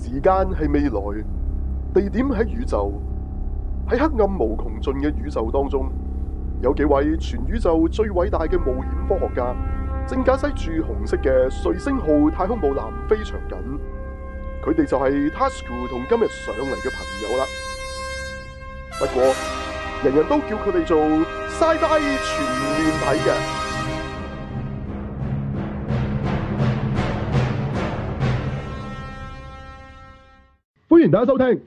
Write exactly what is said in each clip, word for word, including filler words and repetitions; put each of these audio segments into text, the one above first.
時間係未來，地點喺宇宙，喺黑暗無窮盡嘅宇宙當中，有幾位全宇宙最偉大嘅冒險科學家，正駕駛住紅色嘅瑞星號太空母艦非常緊。佢哋就係 Tasuku 同今日上嚟嘅朋友啦。不過，人人都叫佢哋做 Sci-Fi 全面睇嘅。歡迎大家收聽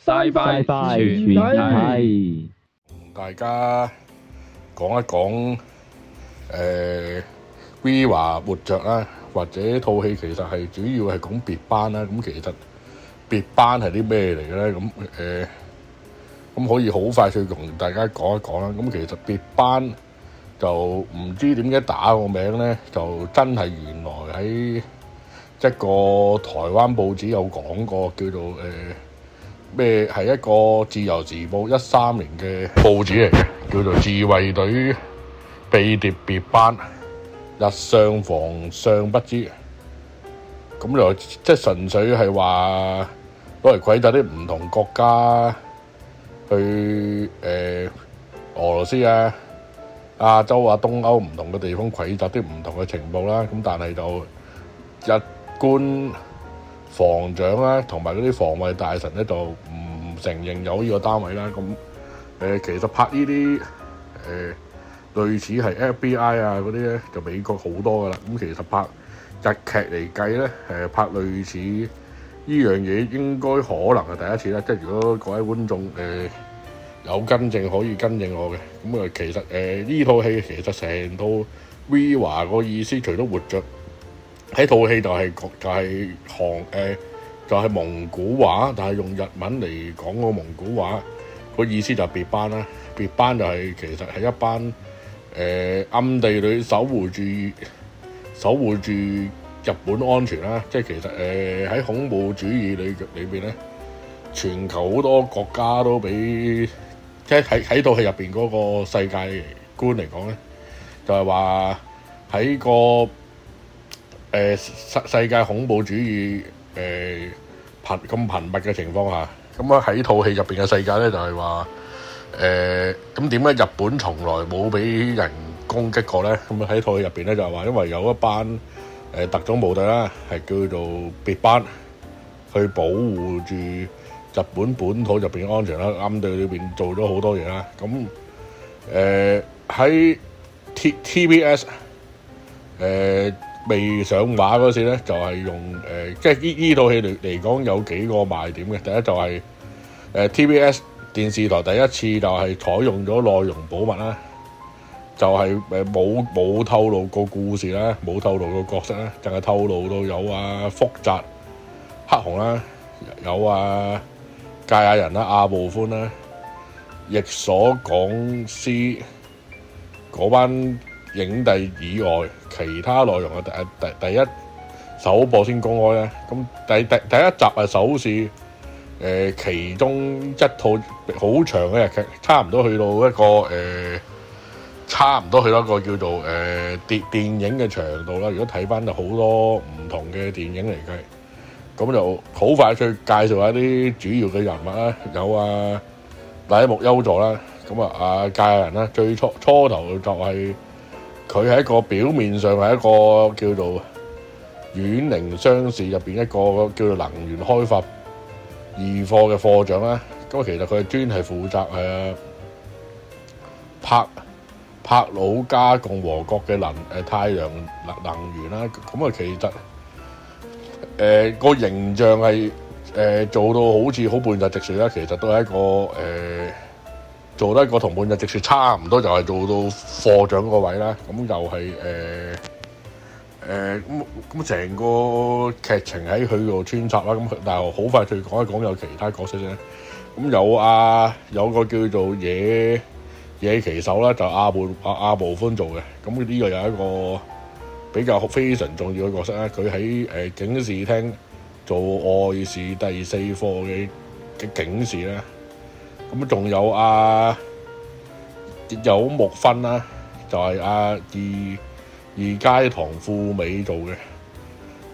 Sci-Fi 全面睇， 同大家講一講誒 Viva 活着啦，或者套戲其實係主要係講別班啦。咁其實別班係啲咩嚟嘅咧？咁誒咁可以好快脆同大家講一講啦。咁其實別班就唔知點解打個名咧，就真係原來喺一個台灣報紙有講過，叫做誒咩係一個自由時報一三年嘅報紙嚟嘅，叫做自衛隊秘諜別班，日上防上不知。咁就即係純粹係話攞嚟詭詐啲唔同國家去誒、呃、俄羅斯啊、亞洲啊、東歐唔同嘅地方詭詐啲唔同嘅情報啦。咁但係就日官防長啦，同埋嗰啲防衛大臣咧，就唔承認有呢個單位啦。咁誒、呃，其實拍呢啲誒類似係 F B I 啊嗰啲咧，就美國好多噶啦。咁其實拍日劇嚟計咧，誒、呃、拍類似呢樣嘢，應該可能係第一次啦。即係如果各位觀眾誒、呃、有跟正，可以跟正我嘅。咁啊，其實誒呢套戲其實成套 Viva 個意思，除咗活着。喺套戲就係、是、就係、是、韓誒、呃、就係、是、蒙古話，但係用日文嚟講個蒙古話，個意思就係別班啦。別班就係、是、其實係一班誒、呃、暗地裏守護住守護住日本安全啦。即係其實誒喺、呃、恐怖主義裏裏邊咧，全球好多國家都俾即係喺喺套戲入邊嗰個世界觀嚟講咧，就係話喺個。誒、呃、世世界恐怖主義誒頻咁頻密嘅情況下，咁啊喺套戲入邊嘅世界咧就係話誒咁點解日本從來冇俾人攻擊過咧？咁啊喺套戲入邊咧就係話，因為有一班誒、呃、特種部隊啦，係叫做別班，去保護住日本本土入邊嘅安全啦，暗地裏邊做咗好多嘢啦。咁誒喺 T T B S 誒、呃。未上畫嗰時咧，就係、是、用誒、呃，即係呢呢套戲嚟嚟講有幾個賣點嘅。第一就係、是、誒、呃、T B S 電視台第一次就係採用咗內容保密啦，就係誒冇冇透露個故事啦，冇透露個角色啦，淨係透露到有啊福澤黑熊啦，有啊堺雅人啦、阿部寬啦、役所廣司嗰班影帝以外，其他內容啊，第第第一首播先公開咧。咁第第第一集係首試，誒、呃、其中一套好長嘅日劇，差唔多去到一個誒、呃，差唔多去到一個叫做誒、呃、電電影嘅長度啦。如果睇翻就好多唔同嘅電影嚟計，咁就好快去介紹下啲主要嘅人物啦。有啊，乃木優助啦，咁啊啊堺雅人啦，最初初頭就係、是。佢係一個表面上係一個叫做遠寧商事入邊一個叫做能源開發二課嘅課長啦。咁其實佢係專係負責誒柏柏魯加共和國嘅能誒太陽能能源啦。咁啊，其實誒個、呃、形象係誒、呃、做到好似好半日直樹啦。其實都係一個誒。呃做得一個同半日直樹差唔多，就係做到課長個位啦。咁又係誒誒咁咁成個劇情喺佢度穿插啦。咁但係好快脆講一講有其他角色啫。咁有啊有個叫做野野崎守啦，就阿部阿阿部寬做嘅。咁呢個有一個比較非常重要嘅角色啦。佢喺誒警視廳做外事第四課嘅嘅警視啦。咁仲有啊，有木薰啦，就係、是、啊二二階堂富美做嘅。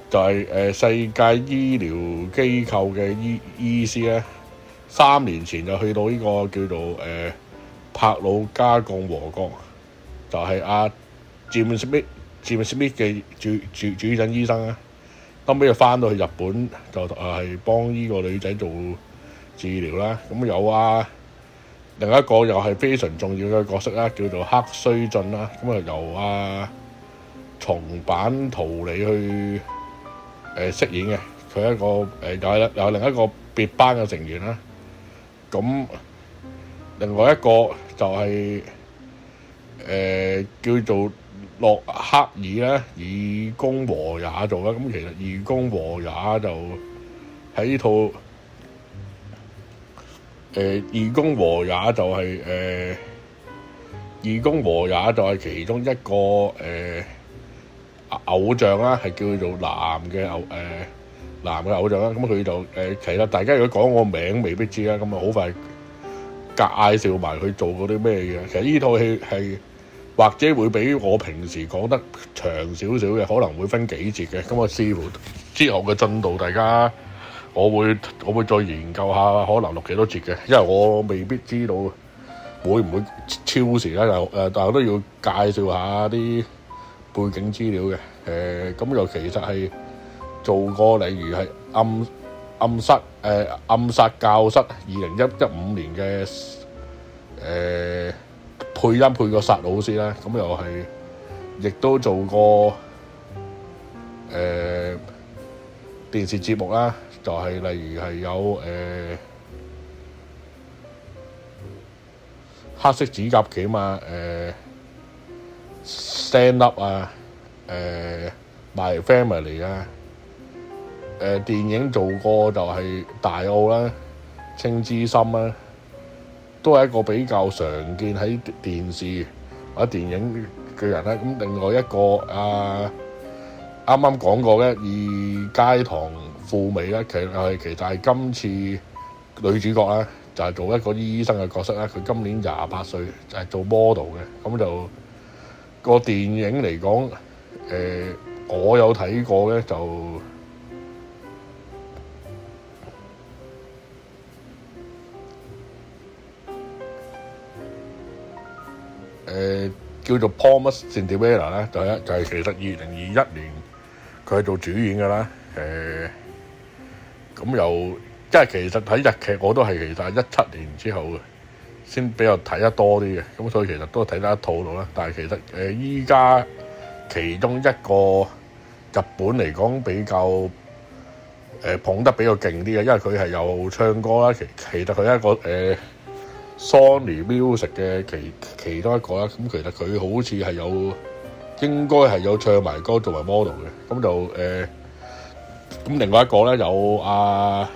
就係、是、誒、呃、世界醫療機構嘅醫醫師咧，三年前就去到呢個叫做誒、呃、帕魯加共和國，就係阿 Jim Smith、Jim Smith 嘅主主主診醫生啦。後尾就翻到去日本，就誒係幫呢個女仔做治療啦。咁有啊，另一個又係非常重要嘅角色啦，叫做黑須進啦。咁啊由啊松坂桃李去誒、呃、飾演嘅，佢一個誒、呃、又係又係另一個別班嘅成員啦。咁另外一個就係、是、誒、呃、叫做洛克爾咧，義工和也做啦。咁其實義工和也就喺呢套誒、呃、義工和也就係、是、誒、呃、義工和也就係其中一個誒、呃、偶像啦，係叫做男嘅偶誒、呃、男嘅偶像啦。咁佢就誒、呃、其實大家如果講個名未必知啦，咁啊好快介紹埋佢做嗰啲咩嘢。其實呢套戲係或者會比我平時講得長少少嘅，可能會分幾節嘅。咁啊，視乎之後嘅進度，大家我會我會再研究下，可能錄幾多節嘅，因為我未必知道會唔會超時啦。又誒，但係都要介紹下啲背景資料嘅。誒、呃，咁又其實係做過，例如係暗暗室誒、呃、暗殺教室，二零一一五年嘅誒。呃配音配過殺老師啦，咁又係，亦都做過誒、呃、電視節目啦，就係、是、例如係有誒、呃、黑色指甲鉗啊，誒、呃、Stand Up 啊，誒、呃、My Family 啊，誒、呃、電影做過就係大澳啦、青之心啦。都係一個比較常見喺電視或者電影嘅人啦。咁另外一個啊，啱啱講過嘅二階堂富美咧，其實係其實係今次女主角啦，就係、是、做一個醫生嘅角色啦。佢今年廿八歲，就係、是、做 model 嘅。咁就個電影嚟講，誒、呃、我有睇過咧，就。誒、呃、叫做 Promised Cinderella 咧，就係就係其實二零二一年佢係做主演嘅啦。誒咁又即係其實睇日劇我都係其實係一七年之後先比較睇得多啲嘅，咁所以其實都睇得一套到啦。但係其實誒依家其中一個日本嚟講比較誒、呃、捧得比較勁啲嘅，因為佢係有唱歌啦。其其實佢係一個誒。呃 Sony Music 嘅其其中一個啦，咁其實佢好似係有應該係有唱埋歌做埋 model 嘅，咁就誒咁、呃、另外一個咧有阿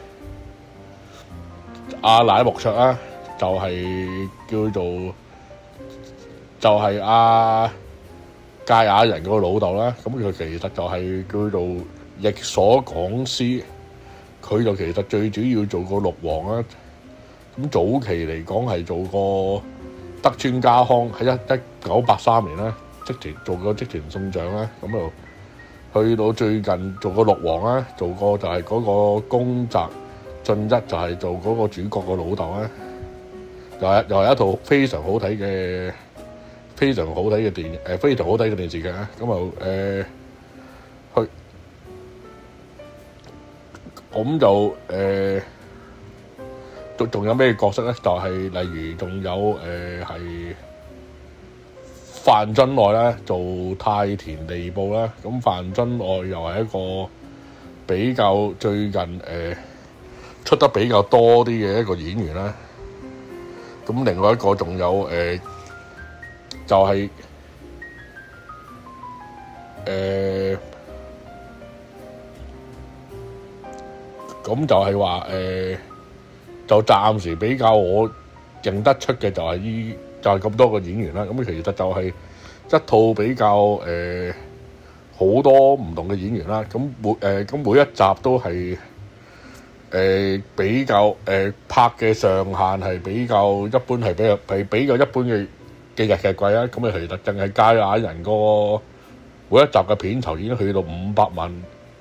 阿乃木卓啦，就係、是、叫做就係、是、阿堺雅人個老豆啦，咁佢其實就係叫做役所廣司，佢就其實最主要做過六王啦。咁早期嚟講係做過德川家康，喺一一九八三年啦，織田做過織田信長啦，咁就去到最近做過六王啦，做過就係嗰個宮澤進一，就係做嗰個主角個老豆啦，又係又係一套非常好睇嘅非常好睇嘅電誒、呃、非常好睇嘅電視劇啊，咁就誒去咁就誒。呃仲有咩角色咧？就係、是、例如仲有誒係范津愛啦，做太田利布啦。咁范津愛又係一個比較最近誒、呃、出得比較多啲嘅一個演員啦。咁另外一個仲有誒、呃、就係誒咁就係話誒。就暫時比較我認得出嘅就係依就係、是、咁多個演員啦。咁其實就係一套比較誒好、呃、多唔同嘅演員啦。咁每誒咁、呃、每一集都係誒、呃、比較誒、呃、拍嘅上限係比較一般，係比較係比較一般嘅嘅日劇貴啦。咁啊其實淨係堺雅人個每一集嘅片酬已經去到五百萬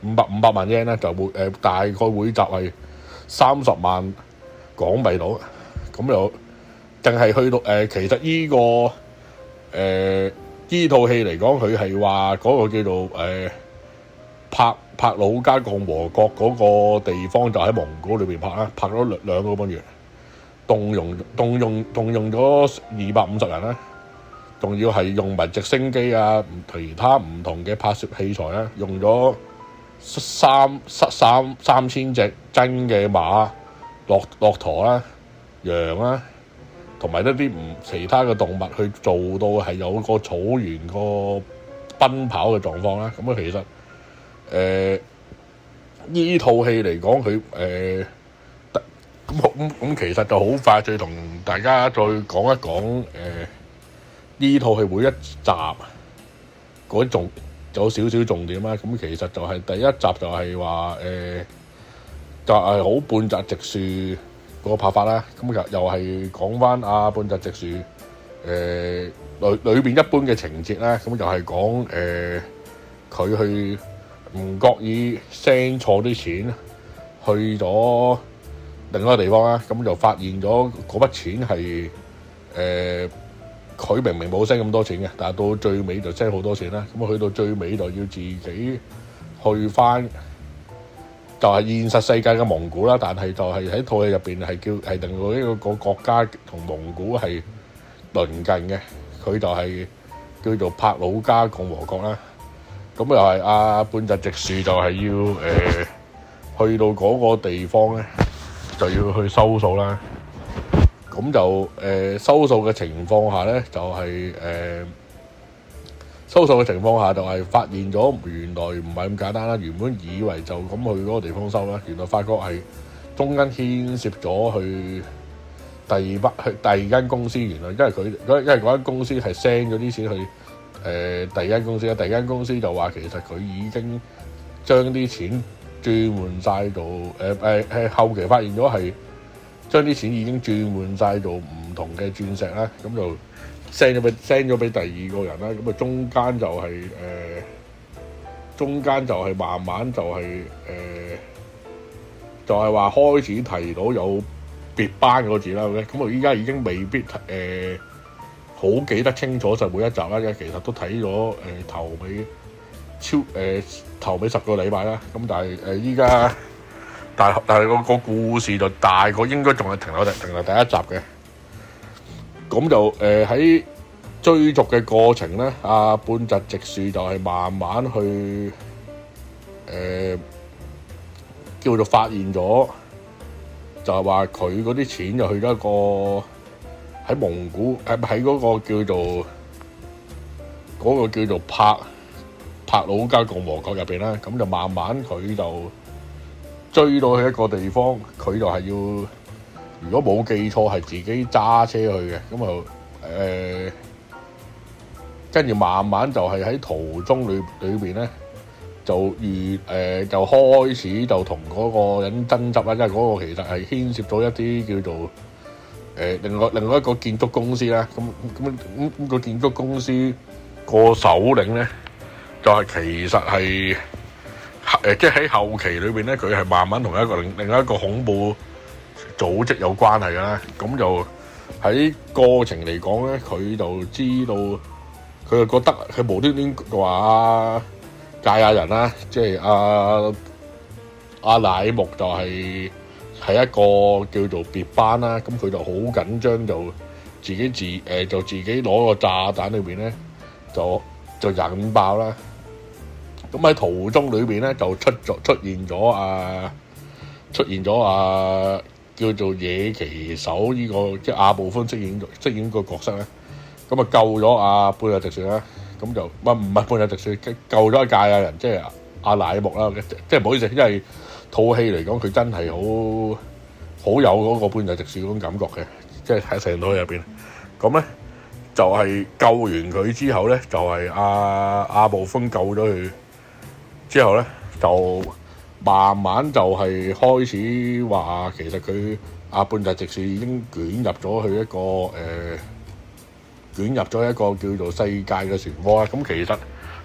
五百五百萬 yen 咧，就會誒、呃、大概會集係三十萬港幣到，咁就淨係去到誒、呃，其實依、這個誒依套戲嚟講，佢係話嗰個叫做誒、呃、帕帕魯加共和國嗰個地方，就喺蒙古裏邊拍啦，拍咗兩兩個半月，動用動用動用咗二百五十人啦，仲要係用埋直升機啊，其他唔同嘅拍攝器材啦，用咗三三三千隻真嘅馬、駱駱駝啦、羊啦，同埋一啲唔其他嘅動物去做到係有個草原個奔跑嘅狀況啦。咁啊，其實誒呢套戲嚟講，佢誒咁咁咁，其實就好快再同大家再講一講誒呢套戲每一集嗰種有少少重點啦。咁其實就係第一集就係話誒就係、是、好半澤直樹嗰個拍法啦。咁又又係講翻阿半澤直樹誒裏裏邊一般嘅情節啦。咁就係講誒佢去唔覺意 send 錯啲錢去咗另一個地方啦，咁就發現咗嗰筆錢係誒佢明明冇 send 咁多錢嘅，但係到最尾就 send 好多錢啦。咁去到最尾就要自己去翻，就係現實世界嘅蒙古啦。但係就係喺套戲入邊係叫係令到呢個個國家同蒙古係鄰近嘅，佢就係叫做帕魯加共和國啦。咁又係阿半澤直樹就係要誒、呃、去到嗰個地方咧，就要去收數啦。咁就誒、呃、收數嘅情況下咧，就係、是、誒、呃、收數嘅情況下就係發現咗原來唔係咁簡單啦。原本以為就咁去嗰個地方收啦，原來發覺係中間牽涉咗去第二筆去第二間公司。原來因為佢因為嗰間公司係 send 咗啲錢去。誒、呃、第二間公司啦，第二間公司就話其實佢已經將啲錢轉換晒做誒誒誒後期發現咗係將啲錢已經轉換晒做唔同嘅鑽石啦，咁就 send 咗俾 send 咗俾第二個人啦，咁啊中間就係、是、誒、呃、中間就係慢慢就係、是、誒、呃、就係、是、話開始提到有別班嗰個字啦，咁我依家已經未必誒。呃好記得清楚就每一集啦，因為其實都睇咗誒頭尾超誒、呃、頭尾十個禮拜啦。咁但係誒依家，但係但係個個故事就大個應該仲係停留停留第一集嘅。咁就誒喺、呃、追逐嘅過程咧，阿半澤直樹就係慢慢去誒、呃、叫做發現咗，就係話佢嗰啲錢就去咗一個。喺蒙古誒喺嗰個叫做嗰、嗰個叫做帕帕魯加共和國入邊啦，咁就慢慢佢就追到去一個地方，佢就係要如果冇記錯係自己揸車去嘅，咁啊誒跟住慢慢就係喺途中裏裏邊咧就遇誒、呃、就開始就同嗰個人爭執啦，因為嗰個其實係牽涉咗一啲叫做。誒、呃、另外另外一個建築公司啦，咁咁咁咁個建築公司個首領咧，就係、是、其實係誒即係喺後期裏邊咧，佢係慢慢同一個另另一個恐怖組織有關係㗎啦。咁就喺過程嚟講咧，佢就知道佢就覺得佢無端端話介亞人啦，即係阿阿乃木就係、是。係一個叫做別班啦，咁佢就好緊張，就自己自誒、呃、就自己攞個炸彈裏邊咧，就就引爆啦。咁喺途中裏邊咧，就出咗出現咗啊，出現咗啊，叫做野騎手呢、這個即係阿部寬飾演飾演個角色咧，咁啊救咗阿半澤直樹啦，咁就唔唔係半澤直樹救咗阿介亞人，即係阿乃木啦，即係唔好意思，因為。套戲嚟講，佢真係好好有嗰個半澤直樹嗰種感覺嘅，即係喺成套戲入邊。咁咧就係、是、救完佢之後咧，就係阿阿部寬救咗佢之後咧，就慢慢就係開始話，其實佢阿半澤直樹已經捲入咗去一個誒、呃、捲入咗一個叫做世界嘅漩渦啦。咁其實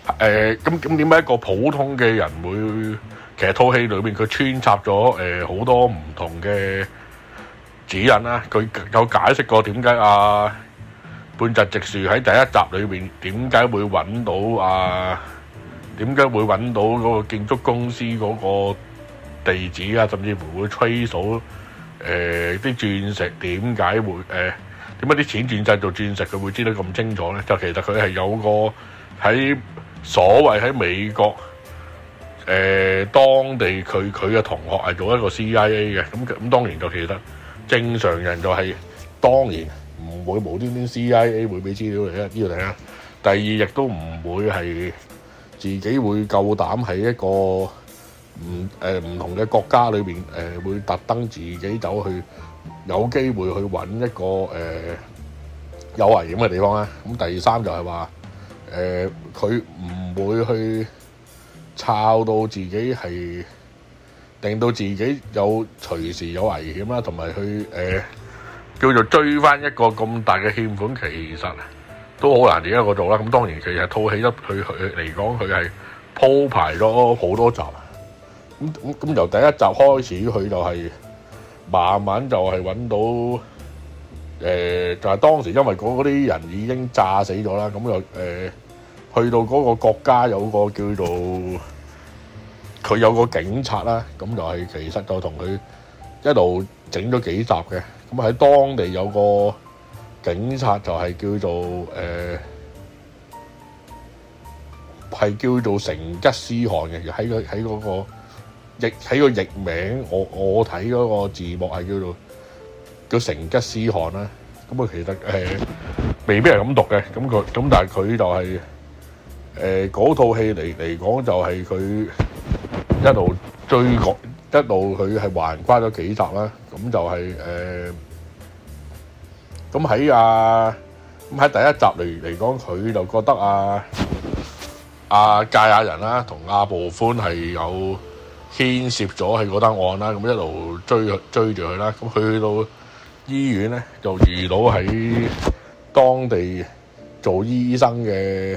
誒咁咁點解一個普通嘅人會？其實套戲裏面佢穿插咗誒好多唔同嘅指引啦，佢有解釋過點解啊半澤直樹喺第一集裏面點解會揾到啊點解會揾到嗰個建築公司嗰個地址啊，甚至乎會吹數誒啲鑽石點解會誒點解啲錢轉製做鑽石，佢會知得咁清楚咧？就其實佢係有個喺所謂喺美國。誒、呃、當地佢佢嘅同學係做一個 C I A 嘅，咁咁當然就其實正常人就係、是、當然唔會無端端 C I A 會俾資料嚟啦，呢個第一。第二亦都唔會係自己會夠膽喺一個唔誒唔同嘅國家裏邊誒、呃、會特登自己走去有機會去揾一個誒、呃、有危險嘅地方啦。咁第三就係話誒佢唔會去。抄到自己係令到自己有隨時有危險啦，同埋去誒、呃、叫做追翻一個咁大嘅欠款，其實都好難自己一個做啦。咁當然其實套戲一佢佢嚟講，佢係鋪排咗好多集。咁咁咁由第一集開始，佢就係慢慢就係揾到誒、呃，就係、是、當時因為嗰啲人已經炸死咗啦，咁又誒。呃去到嗰個國家有個叫做佢有個警察啦，咁就係其實就同佢一路整咗幾集嘅。咁喺當地有個警察就係叫做誒係、呃、叫做成吉思汗嘅，喺個喺嗰個譯喺個譯名，我我睇嗰個字幕係叫做叫成吉思汗啦。咁啊其實誒、呃、未必係咁讀嘅，咁佢咁但係佢就係、是。誒嗰套戲嚟嚟講就係佢一路追趕，一路佢係橫跨咗幾集啦。咁就係誒，咁喺啊咁喺第一集嚟嚟講，佢就覺得啊啊堺雅人啦同阿部寬係有牽涉咗喺嗰單案啦。咁一路追追住佢啦。咁去到醫院咧，就遇到喺當地做醫生嘅。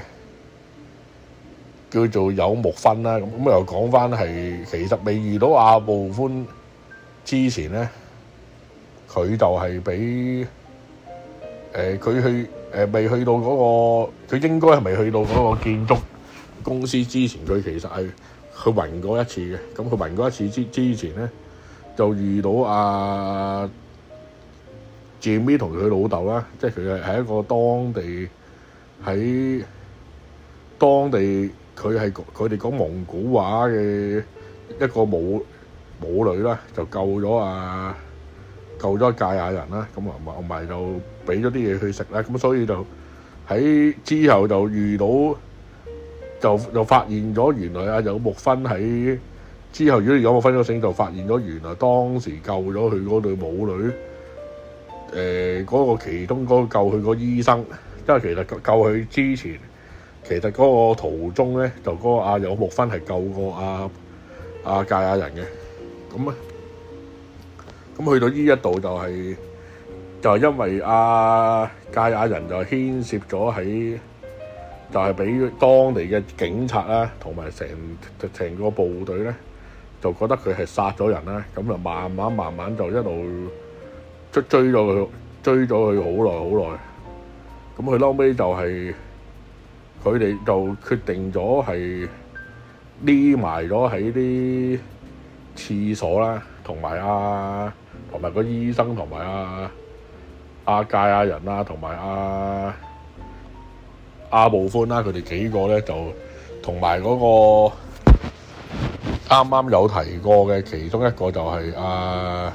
叫做有木薰啦，咁咁又講翻係其實未遇到阿部寬之前咧，佢就係俾誒佢去誒、呃、未去到嗰、嗰個，佢應該係未去到嗰個建築公司之前，佢其實係去暈過一次嘅。咁佢暈過一次之之前咧，就遇到阿 Jimmy 同佢老豆啦，即係佢係係一個當地喺當地。佢係佢哋講蒙古話嘅一個母母女啦，就救咗啊救咗堺雅人啦，咁啊同埋就俾咗啲嘢佢食啦，咁所以就喺之後就遇到就就發現咗原來啊有木薰喺之後，如果有木薰咗醒，就發現咗原來當時救咗佢嗰對母女誒嗰、呃嗰個其中嗰個救佢個醫生，因為其實救佢之前。其實嗰個途中咧，就嗰個阿有木薰係救過阿阿堺雅人嘅，咁啊，咁去到呢一度就係、是、就係、是、因為阿堺雅人就牽涉咗喺，就係俾當地嘅警察啦，同埋成成個部隊咧，就覺得佢係殺咗人啦，咁就慢慢慢慢就一路追追咗佢，追咗佢好耐好耐，咁佢後尾就係、是。佢哋就決定咗係匿埋咗喺啲廁所啦，同埋阿同埋個醫生，同埋阿阿堺雅人啦，同埋阿阿部寬啦，佢哋幾個咧就同埋嗰個啱啱有提過嘅其中一個就係阿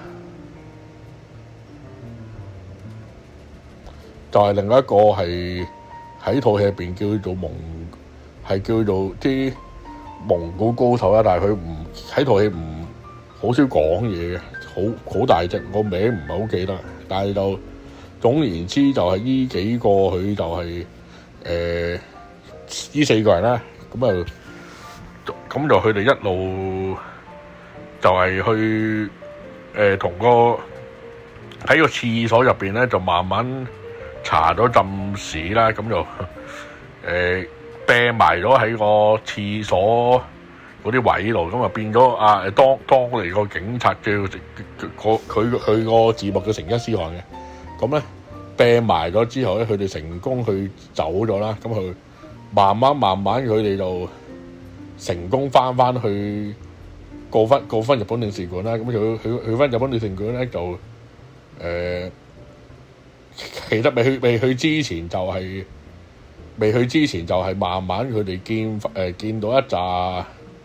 就係、是、另外一個係。喺套戲入邊叫做蒙，係叫做啲蒙古高手啦，但係佢唔喺套戲唔好少講嘢嘅，好好大隻，個名唔係好記得，但係就總言之就係呢幾個佢就係誒呢四個人啦，咁啊咁就佢哋一路就係去誒同、呃、個喺個廁所入邊咧就慢慢。查咗浸屎啦，咁就誒病埋咗喺個廁所嗰啲位度，咁啊變咗啊當當嚟個警察叫佢佢佢個字幕叫成吉思汗嘅，咁咧病埋咗之後咧，佢哋成功去走咗啦，咁佢慢慢慢慢佢哋就成功翻翻去告翻告翻日本領事館啦，咁佢去去翻日本領事館咧就誒、呃，其實未去未去之前就係、是、未去之前就係慢慢佢哋見誒、呃、見到一紮，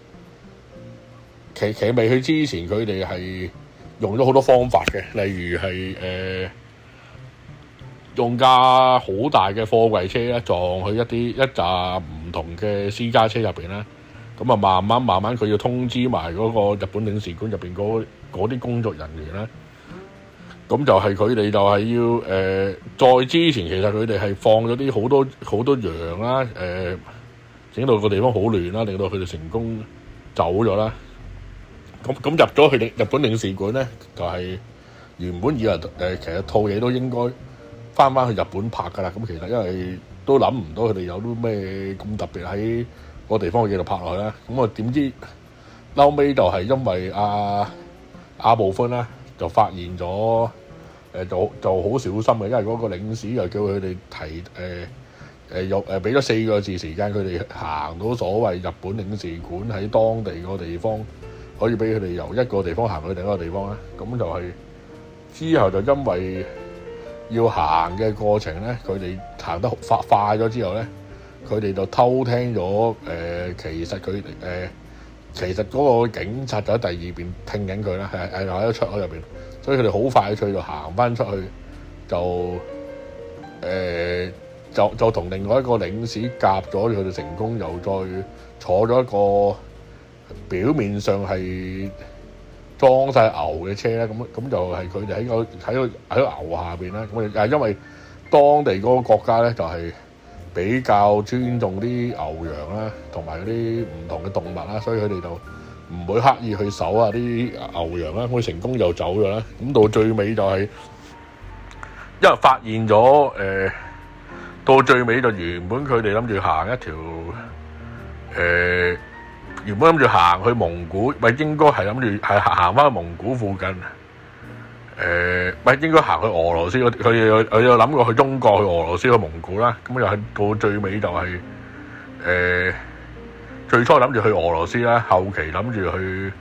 其其實未去之前佢哋係用咗好多方法嘅，例如係誒、呃、用架好大嘅貨櫃車咧撞去一啲一紮唔同嘅私家車入邊啦。咁啊，慢慢慢慢佢要通知埋嗰個日本領事館入邊嗰啲工作人員啦。咁就係佢哋就係要誒、呃，再之前其實佢哋係放咗啲好多好多羊啦，誒、呃，整到個地方好亂啦，令到佢哋成功走咗啦。咁咁入咗去日本領事館咧，就係、是、原本以為誒、呃，其實套嘢都應該翻翻去日本拍噶啦。咁其實因為都諗唔到佢哋有啲咩咁特別喺個地方嘅嘢度拍落去啦，咁啊點知後尾就係因為阿阿部寬啦，就發現咗誒就就好小心嘅，因為嗰個領事又叫佢哋提誒誒又誒俾咗四個字時間，佢哋行到所謂日本領事館喺當地個地方，可以俾佢哋由一個地方行去另一個地方啦。咁就係之後就因為要行嘅過程咧，佢哋行得快快咗之後咧。佢哋就偷聽咗，誒、呃，其實佢誒、呃，其實嗰個警察就喺第二邊聽緊佢啦，係係喺個出口入邊，所以佢哋好快脆就行翻出去，就誒、呃，就就同另外一個領事夾咗，佢哋成功又再坐咗一個表面上係裝晒牛嘅車咧，咁咁就係佢哋喺個喺個喺個牛下邊啦，咁啊因為當地嗰個國家咧就係、是。比較尊重啲牛羊啦，同埋嗰啲唔同嘅動物啦，所以佢哋就唔會刻意去搜啊啲牛羊啦。佢成功又走咗啦。咁到最尾就係、是、因為發現咗誒、呃，到最尾就原本佢哋諗住行一條誒、呃，原本諗住行去蒙古，咪應該係諗住係行翻去蒙古附近。誒，咪、呃、應該行去俄羅斯，佢佢有佢有諗過去中國、去俄羅斯、去蒙古啦。咁又係到最尾就係、是、誒、呃，最初諗住去俄羅斯啦，後期諗住去誒、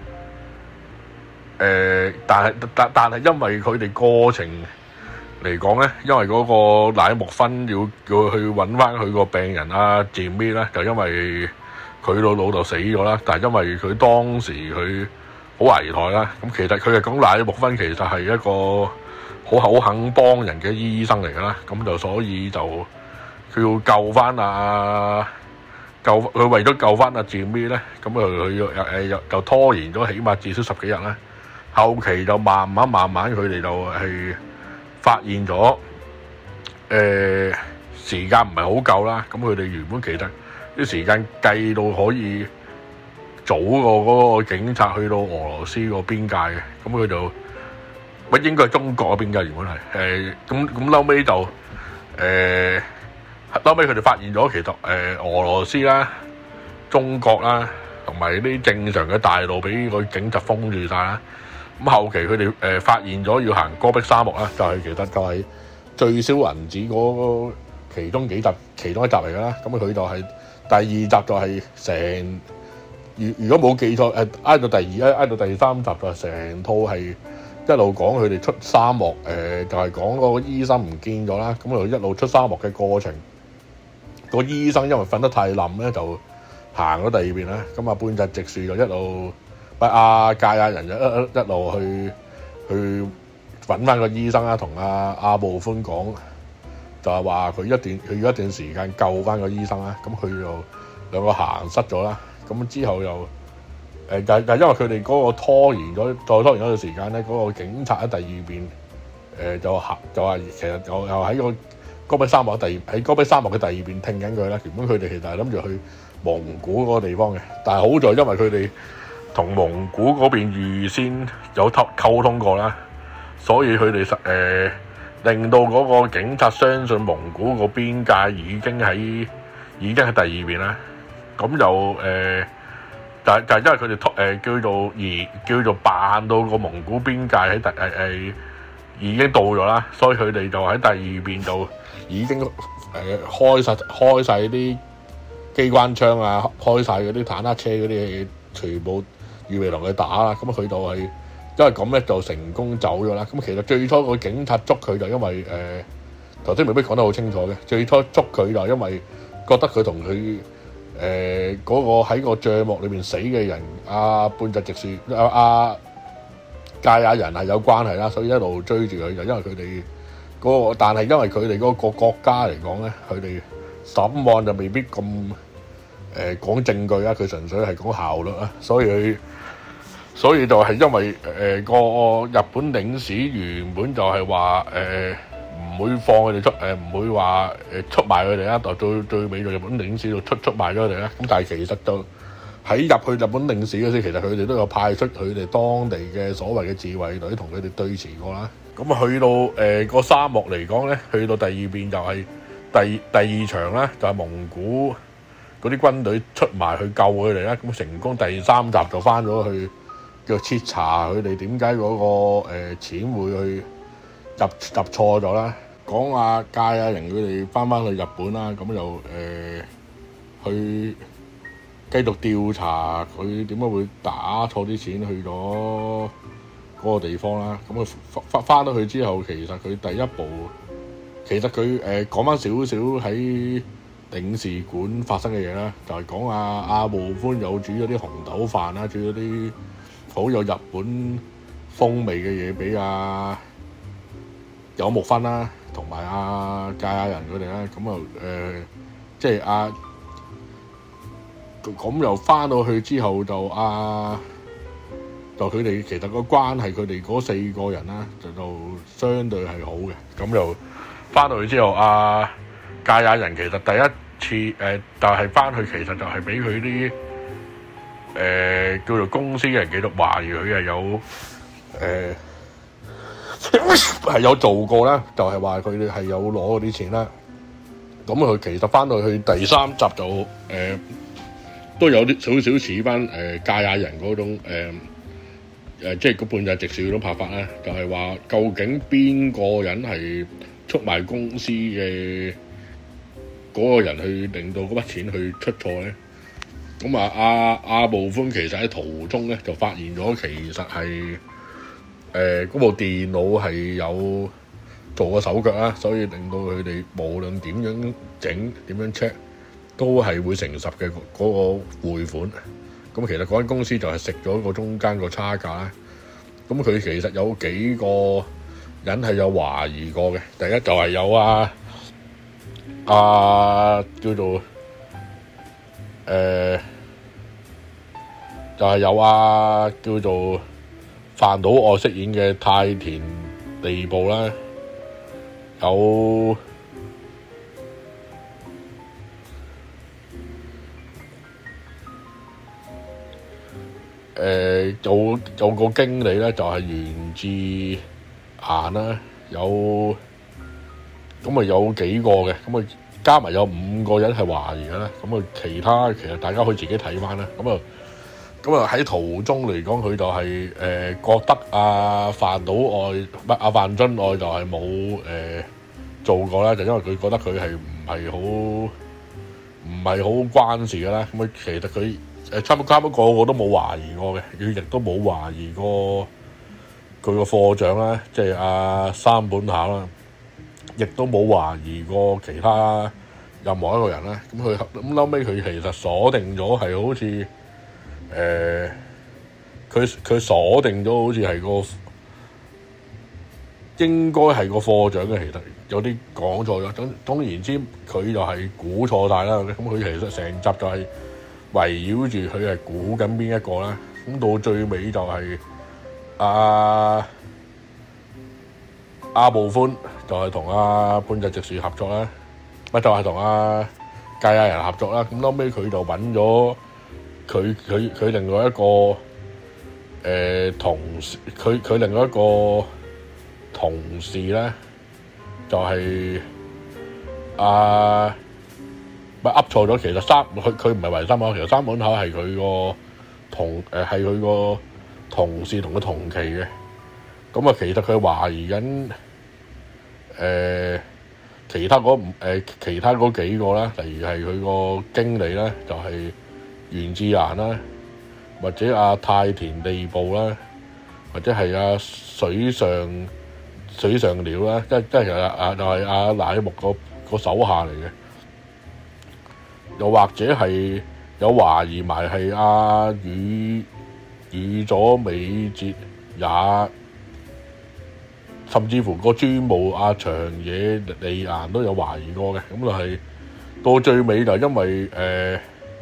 呃，但係但但係因為佢哋過程嚟講咧，因為嗰個乃木芬要叫佢去揾翻佢個病人啊，Jimmy咧，就因為佢老老豆死咗啦，但係因為佢當時佢。好危殆啦！咁其實佢係講乃木芬其實係一個好好肯幫人嘅醫生嚟㗎啦，咁就所以就佢要救翻啊救佢為咗救翻阿 Jimmy 咧，咁佢佢又誒又就拖延咗起碼至少十幾日啦。後期就慢慢慢慢佢哋就係發現咗誒、呃、時間唔係好夠啦，咁佢哋原本其實啲時間計到可以。早過嗰個警察去到俄羅斯個邊界嘅，咁佢就唔應該係中國嗰邊嘅，原本係誒咁咁後尾就誒後尾佢哋發現咗，其實誒、呃、俄羅斯啦、中國啦，同埋啲正常嘅大路俾個警察封住晒啦。咁後期佢哋誒發現咗要行戈壁沙漠啦，就係、是、其實就係最少銀紙嗰其中幾集其中一集嚟㗎啦。咁佢就係、是、第二集就係成。如如果冇記錯，誒挨到第二，挨挨到第三集就成套係一路講佢哋出沙漠，誒、呃、就係、是、講嗰個醫生唔見咗啦，咁就一路出沙漠嘅過程。個醫生因為瞓得太冧咧，就行咗第二邊啦。咁啊半澤直樹就一路不阿介亞人就一一路去去揾翻個醫生啦，同阿阿部寬講，就係話佢一段佢要一段時間救翻個醫生啦。咁佢就兩個行失咗啦。咁之後又誒，但但因為佢哋嗰個拖延咗，再拖延咗段時間咧，嗰、那個警察喺第二邊誒、呃、就行就話其實又又喺個戈壁沙漠第二喺戈壁沙漠嘅第二邊聽緊佢啦。原本佢哋其實係諗住去蒙古嗰個地方嘅，但係好在因為佢哋同蒙古嗰邊預先有溝溝通過啦，所以佢哋實誒令到嗰個警察相信蒙古個邊界已經喺已經喺第二邊啦。咁就誒、呃，就係就係因為佢哋突誒叫做而叫做扮到個蒙古邊界喺第誒誒、呃、已經到咗啦，所以佢哋就喺第二邊就已經誒、呃、開晒開晒啲機關槍啊，開晒嗰啲坦克車嗰啲嘢，全部預備同佢打啦。咁佢就係、是、因為咁咧就成功走咗啦。咁其實最初個警察捉佢就因為誒頭先未必講得好清楚嘅，最初捉佢就因為覺得佢同佢。誒嗰、呃那個喺個帳幕裏面死嘅人，阿、啊、半澤直樹、阿阿堺雅人係有關係啦，所以一路追住佢就因為佢哋嗰個，但係因為佢哋嗰個國家嚟講咧，佢哋審案就未必咁誒講證據啊，佢純粹係講效率啊，所以佢所以就係因為誒、呃、個日本領事原本就係話誒。呃唔會放佢哋出，誒、呃、唔會話誒出賣佢哋啦，到最最尾就日本領事度出出賣咗佢哋啦。咁但係其實就喺入去日本領事嗰時，其實佢哋都有派出佢哋當地嘅所謂嘅自衛隊同佢哋對峙過啦。咁啊去到誒、呃、個沙漠嚟講咧，去到第二邊就係第第二場啦，就係、是、蒙古嗰啲軍隊出埋去救佢哋啦。咁成功第三集就翻咗去叫徹查佢哋點解嗰個誒、呃、錢會去入入錯咗啦。講阿堺雅人佢哋翻翻去日本啦，咁就誒、呃、去繼續調查佢點解會打錯啲錢去咗嗰個地方啦。咁佢翻翻到去之後，其實佢第一步，其實佢誒講翻少少喺領事館發生嘅嘢啦，就係、是、講阿阿部寬有煮咗啲紅豆飯啦，煮咗啲好有日本風味嘅嘢俾阿有木薰啦。同埋阿堺雅人佢哋啦，咁啊誒，即係阿咁又翻到去之後就阿、啊、就佢哋其實個關係，佢哋嗰四個人啦，就就相對係好嘅。咁又翻到去之後，阿堺雅人其實第一次誒、呃、就係、是、翻去，其實就係俾佢啲誒叫做公司嘅人繼續懷疑佢係有誒。呃係有做過啦，就係話佢哋係有攞嗰啲錢啦。咁佢其實翻到去第三集就誒、呃、都有啲少少似翻誒堺雅人嗰種誒誒、呃，即係嗰半澤直樹嗰種拍法啦。就係、是、話究竟邊個人係出賣公司嘅嗰個人去令到嗰筆錢去出錯咧？咁啊，阿阿部寬其實喺途中咧就發現咗，其實係。誒嗰、呃、部電腦係有做過手腳啦，所以令到佢哋無論點樣整、點樣 check 都係會誠實嘅嗰個匯款。咁其實嗰間公司就係食咗個中間個差價啦。咁佢其實有幾個人係有懷疑過嘅。第一就係有啊啊叫做誒、呃、就係、是、有啊叫做。飯島愛飾演嘅太田利部啦，有誒有有個經理咧，就係源志彥啦，有咁啊有幾個嘅，咁啊加埋有五個人係懷疑嘅啦，咁啊其他其實大家可以自己睇翻啦，咁啊。咁啊喺途中嚟講，佢就係、是、誒、呃、覺得阿飯島愛唔係阿飯津愛就係冇誒做過啦，就因為佢覺得佢係唔係好唔係好關事嘅啦。咁啊其實佢誒差唔多差唔多個個都冇懷疑過嘅，佢亦都冇懷疑過佢個課長啦，即係阿三本考啦，亦都冇懷疑過其他任何一個人啦。咁佢咁後尾佢其實鎖定咗係好似。誒，佢佢、呃、鎖定咗好似係個應該係個課長嘅，其實有啲講錯咗。總總言之，佢就係估錯晒啦。咁佢其實成集就係圍繞住佢係估緊邊一個啦。咁到最尾就係阿阿部寬就係同阿半澤直樹合作啦，咪就係同阿堺雅人合作啦。咁後尾佢就揾咗。佢佢佢另外一個誒、呃、同事，佢佢另外一個同事咧，就係阿咪噏錯咗，其實三佢佢唔係圍三門口，其實三門口係佢個同誒係佢個同事同佢同期嘅。咁啊，其實佢懷疑緊誒、呃、其他嗰唔誒其他嗰幾個啦，例如係佢個經理啦，就係、是、袁志蘭啦，或者阿、啊、太田利步啦，或者係阿、啊、水上水上鳥啦，即即係啊啊就係阿乃木個個手下嚟嘅。又或者係有懷疑埋係阿宇宇佐美捷也，甚至乎個專務阿、啊、長野利彥都有懷疑過嘅。咁就係到最尾就因為誒、呃、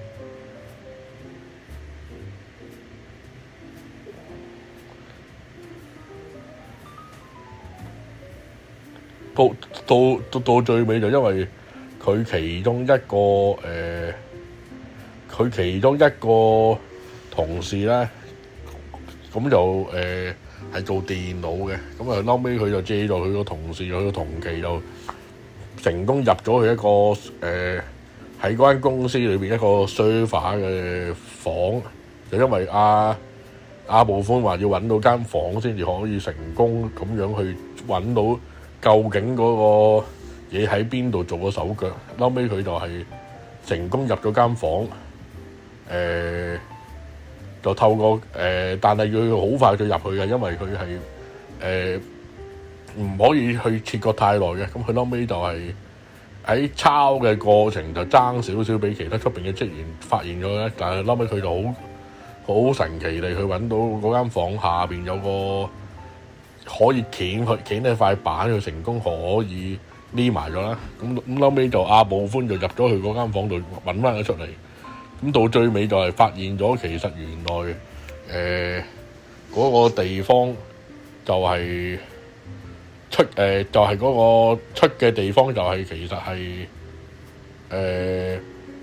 到到到到最尾就因為佢其中一個誒，佢、呃、其中一個同事咧，咁就誒係、呃、做電腦嘅，咁啊後尾佢就借助佢個同事，佢個同期就成功入咗去一個誒喺嗰間公司裏邊一個 server 嘅房，就因為阿阿部寬話要揾到間房先至可以成功咁樣去揾到究竟嗰個嘢喺邊度做個手腳，後尾佢就係成功入咗間房，誒、呃、就透過誒、呃，但係佢好快就入去嘅，因為佢係誒唔可以去切割太耐嘅。咁佢後尾就係喺抄嘅過程就爭少少俾其他出邊嘅職員發現咗咧，但係後尾佢就好好神奇地去揾到嗰間房下邊有個可以掀去掀起塊板，佢成功可以匿埋咗啦。咁咁後尾就阿部寬就入咗去嗰間房度揾翻佢出嚟。咁到最尾就係發現咗，其實原來誒嗰、呃嗰個地方就係出誒、呃、就係、係、嗰個出嘅地方就係其實係誒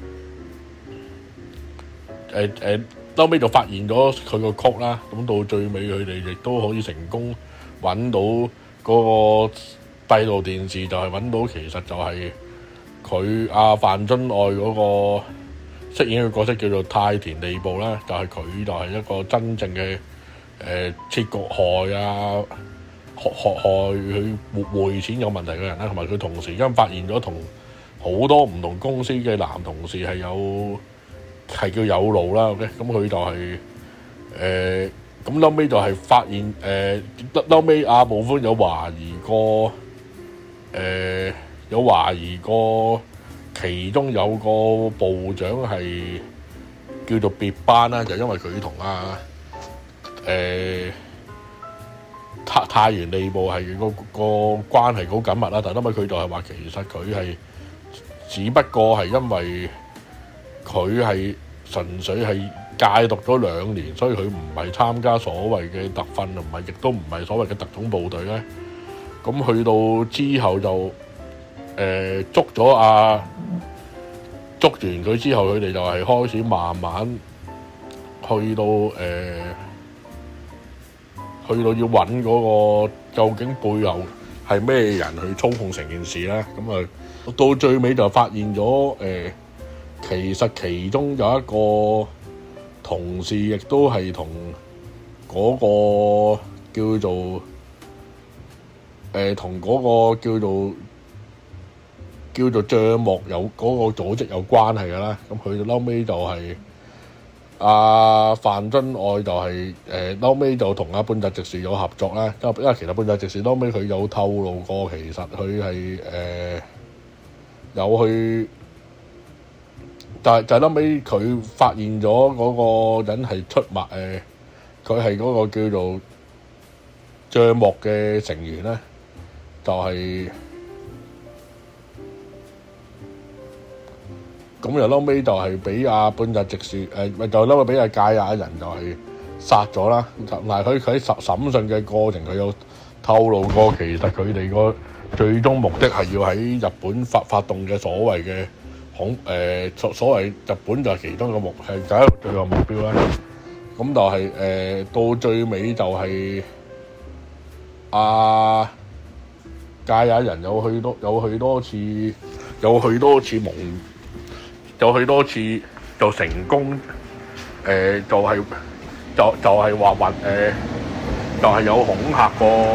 誒誒後尾就發現咗佢個曲啦。咁到最尾佢哋亦都可以成功揾到嗰個閉路電視，就係揾到其實就係佢阿范津愛嗰個飾演嘅角色叫做太田利步啦，就係、是、佢就係一個真正嘅誒切割害啊害害害佢匯錢有問題嘅人啦，同埋佢同時間發現咗同好多唔同公司嘅男同事係有係叫有路啦。OK，咁佢就係、是、誒。呃咁後尾就係發現誒，後尾阿部寬有懷疑過，誒、呃、有懷疑過，其中有個部長係叫做別班啦，就因為佢同阿誒太太原利部係個個關係好緊密啦，但係後尾佢就係話其實佢係只不過係因為佢係純粹係戒毒咗兩年，所以佢唔係參加所謂嘅特訓，唔係亦都唔係所謂嘅特種部隊咧。咁去到之後就誒、呃、捉咗啊，捉完佢之後，佢哋就係開始慢慢去到誒、呃，去到要揾嗰個究竟背後係咩人去操控成件事咧。咁啊，到最尾就發現咗誒、呃，其實其中有一個同事亦都係同嗰個叫做誒，同、呃、嗰個叫做叫做帳幕有嗰、那個組織有關係㗎啦。咁佢後尾就係、是、阿、啊、范津愛就係誒後尾就同阿半澤直樹有合作啦。因為因為其實半澤直樹後尾佢有透露過，其實佢係誒有去。就係就係後尾佢發現咗嗰個人係出賣誒，佢係嗰個叫做帳幕嘅成員咧，就係咁又後尾就係俾阿半澤直樹誒，咪就後尾俾阿堺雅人就係殺咗啦。但係佢佢喺審審訊嘅過程，佢有透露過，其實佢哋個最終目的係要喺日本發發動嘅所謂嘅。恐誒、呃、所所謂日本就係其中一個目係就係最後目標啦。咁就係、是、誒、呃、到最尾就係阿堺雅人有去多有去多次有去多次蒙就去多次就成功誒、呃，就係、是、就就係話話誒，就係、是、有恐嚇過，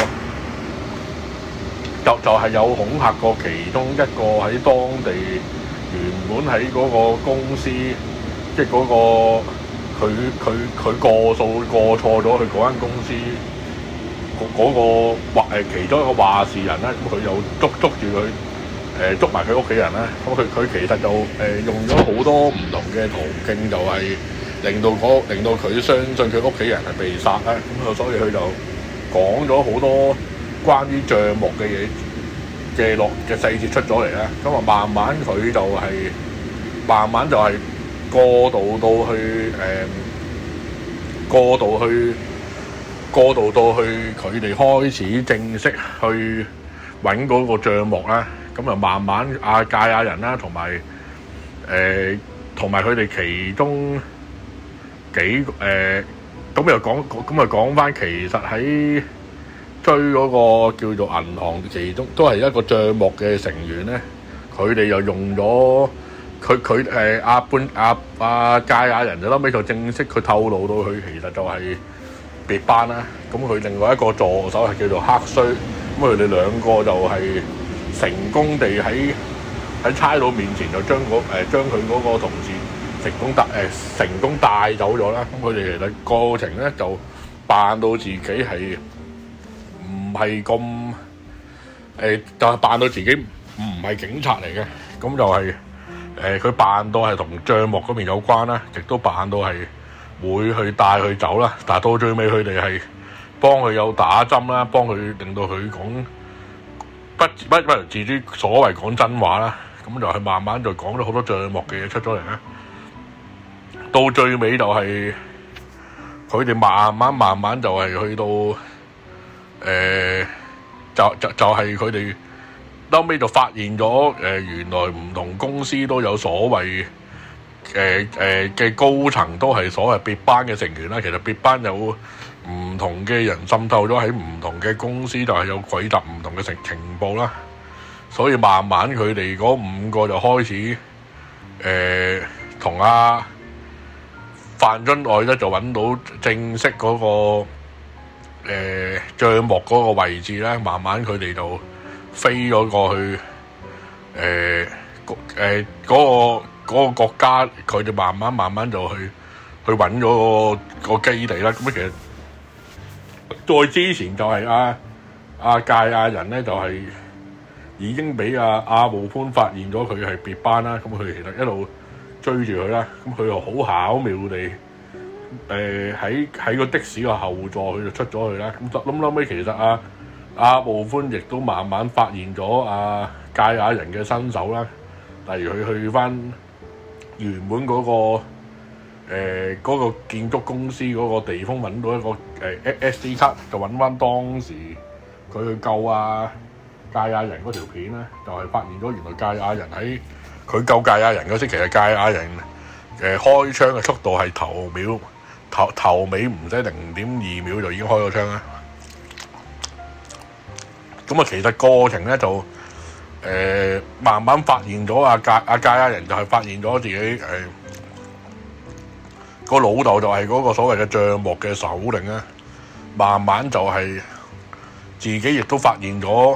就就係、是、有恐嚇過其中一個喺當地原本喺嗰個公司，即係嗰個佢佢佢過數過錯咗，佢嗰間公司嗰、那個話誒其中一個話事人咧，咁佢又捉捉住佢。誒捉埋佢屋企人啦，咁佢佢其實就誒、呃、用咗好多唔同嘅途徑，就係令到嗰令到佢相信佢屋企人係被殺啦。咁所以佢就講咗好多關於帳目嘅嘢嘅落嘅細節出咗嚟啦。咁啊，慢慢佢就係、是、慢慢就係過渡到去誒、呃、過渡去過渡到去佢哋開始正式去揾嗰個帳目啦。咁啊，慢慢阿界亞人啦，同埋誒，同埋佢哋其中幾誒，咁、呃、又講，咁又講翻，其實喺追嗰個叫做銀行，其中都係一個帳目嘅成員咧。佢哋又用咗佢佢誒阿半阿阿界亞人就後尾就正式佢透露到佢其實就係別班啦。咁佢另外一個助手係叫做黑須，咁佢哋兩個就係、是。成功地喺喺差佬面前就將嗰誒將佢嗰個同事成功帶誒、呃、成功帶走咗啦。咁佢哋其實過程咧就扮到自己係唔係咁誒，就係、是、扮到自己唔係警察嚟嘅。咁就係誒佢扮到係同帳目嗰邊有關啦，亦都扮到係會去帶佢走啦。但係到最尾佢哋係幫佢有打針啦，幫佢令到佢講。不不不自知所謂講真話啦，咁就係慢慢就講咗好多帳目嘅嘢出咗嚟啦。到最尾就係佢哋慢慢慢慢就係去到誒、呃，就就就係佢哋後尾就發現咗誒、呃，原來唔同公司都有所謂誒誒嘅高層都係所謂別班嘅成員啦。其實別班有唔同嘅人滲透咗喺唔同嘅公司，就係有匯集唔同嘅情情報啦。所以慢慢佢哋嗰五個就開始誒同阿范津愛咧就揾到正式嗰、嗰個誒帳目嗰個位置咧。慢慢佢哋就飛咗過去誒誒嗰個嗰個國家，佢哋慢慢慢慢就去去揾咗個個基地啦。咁其實再之前就係阿阿界亞人咧，就係、是、已經俾阿阿慕潘發現咗佢係別班啦。咁佢其實一路追住佢啦。咁佢又好巧妙地誒喺喺個的士個後座，佢就出咗去啦。咁諗諗起其實阿阿慕潘亦都慢慢發現咗阿界亞人嘅身手啦。例如佢去翻原本嗰、那個。誒嗰、呃那個建築公司嗰個地方揾到一個誒、呃、S D 卡，就揾翻當時佢去救啊界亞人嗰條片咧，就係、是、發現咗原來界亞人喺佢救界亞人嗰時，其實界亞人誒、呃、開槍嘅速度係頭秒頭頭尾唔使零點二秒就已經開咗槍啦。咁啊，其實過程咧就誒、呃、慢慢發現咗阿界阿界亞人就係發現咗自己誒。呃個老豆就係嗰個所謂嘅帳目嘅首領咧，慢慢就係自己亦都發現咗，誒、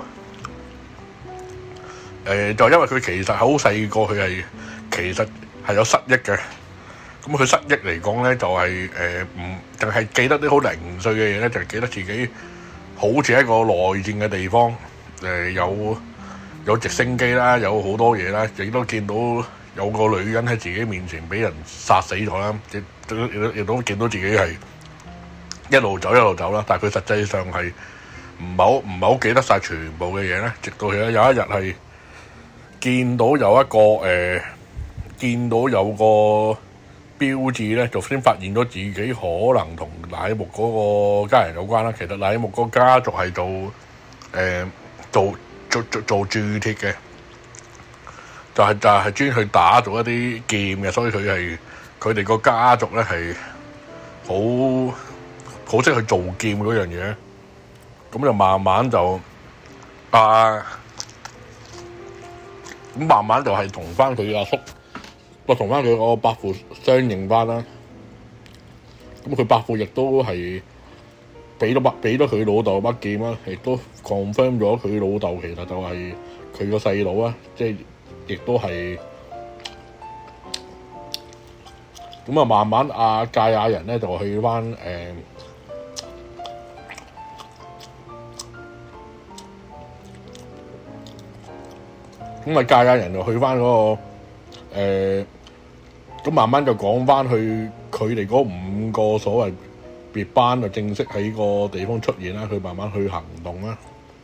呃、就因為佢其實好細個，佢係其實係有失憶嘅。咁佢失憶嚟講咧，就係誒唔淨係記得啲好零碎嘅嘢咧，就係、是、記得自己好似一個內戰嘅地方，誒、呃、有有直升機啦，有好多嘢啦，亦都見到有個女人喺自己面前俾人殺死咗啦。亦都亦都見到自己係一路走一路走啦，但係佢實際上係唔係好唔係好記得晒全部嘅嘢咧。直到有有一日係見到有一個誒、呃，見到有個標誌咧，就先發現咗自己可能同乃木嗰個家人有關啦。其實乃木嗰個家族係做誒、呃、做做做做鑄鐵嘅，就係、是、就係、是、專去打造一啲劍嘅，所以佢係。佢哋個家族咧係好好識去做劍嗰樣嘢，咁就慢慢就啊，咁慢慢就係同翻佢阿叔我同翻佢個伯父相認翻啦。咁佢伯父亦都係俾咗把俾咗佢老豆把劍啦，亦都 confirm 咗佢老豆其實就係佢個細佬啊，即係亦都係咁啊。慢慢阿芥雅人咧就去翻誒咁啊，芥雅人就去翻嗰、那個誒咁、呃、慢慢就講翻去佢哋嗰五個所謂別班就正式喺個地方出現啦，佢慢慢去行動啦。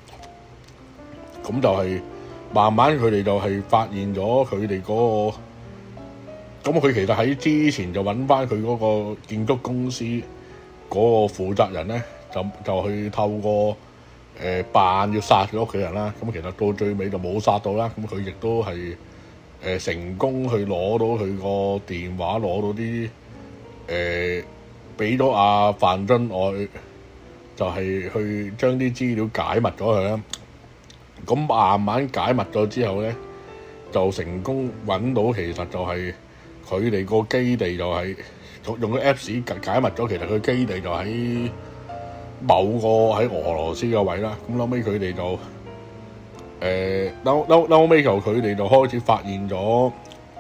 咁就係慢慢佢哋就係發現咗佢哋嗰個，咁佢其實喺之前就揾翻佢嗰個建築公司嗰個負責人咧，就就去透過誒扮、呃、要殺佢屋企人啦。咁其實到最尾就冇殺到啦。咁佢亦都係誒、呃、成功去攞到佢個電話，攞到啲誒俾咗阿范津愛，就係、是、去將啲資料解密咗佢啦。咁慢慢解密咗之後咧，就成功揾到其實就係佢哋個基地就係、是、用個 Apps 解密咗，其實佢基地就喺某個喺俄羅斯嘅位啦。咁後尾佢哋就誒嬲嬲嬲尾就佢哋就開始發現咗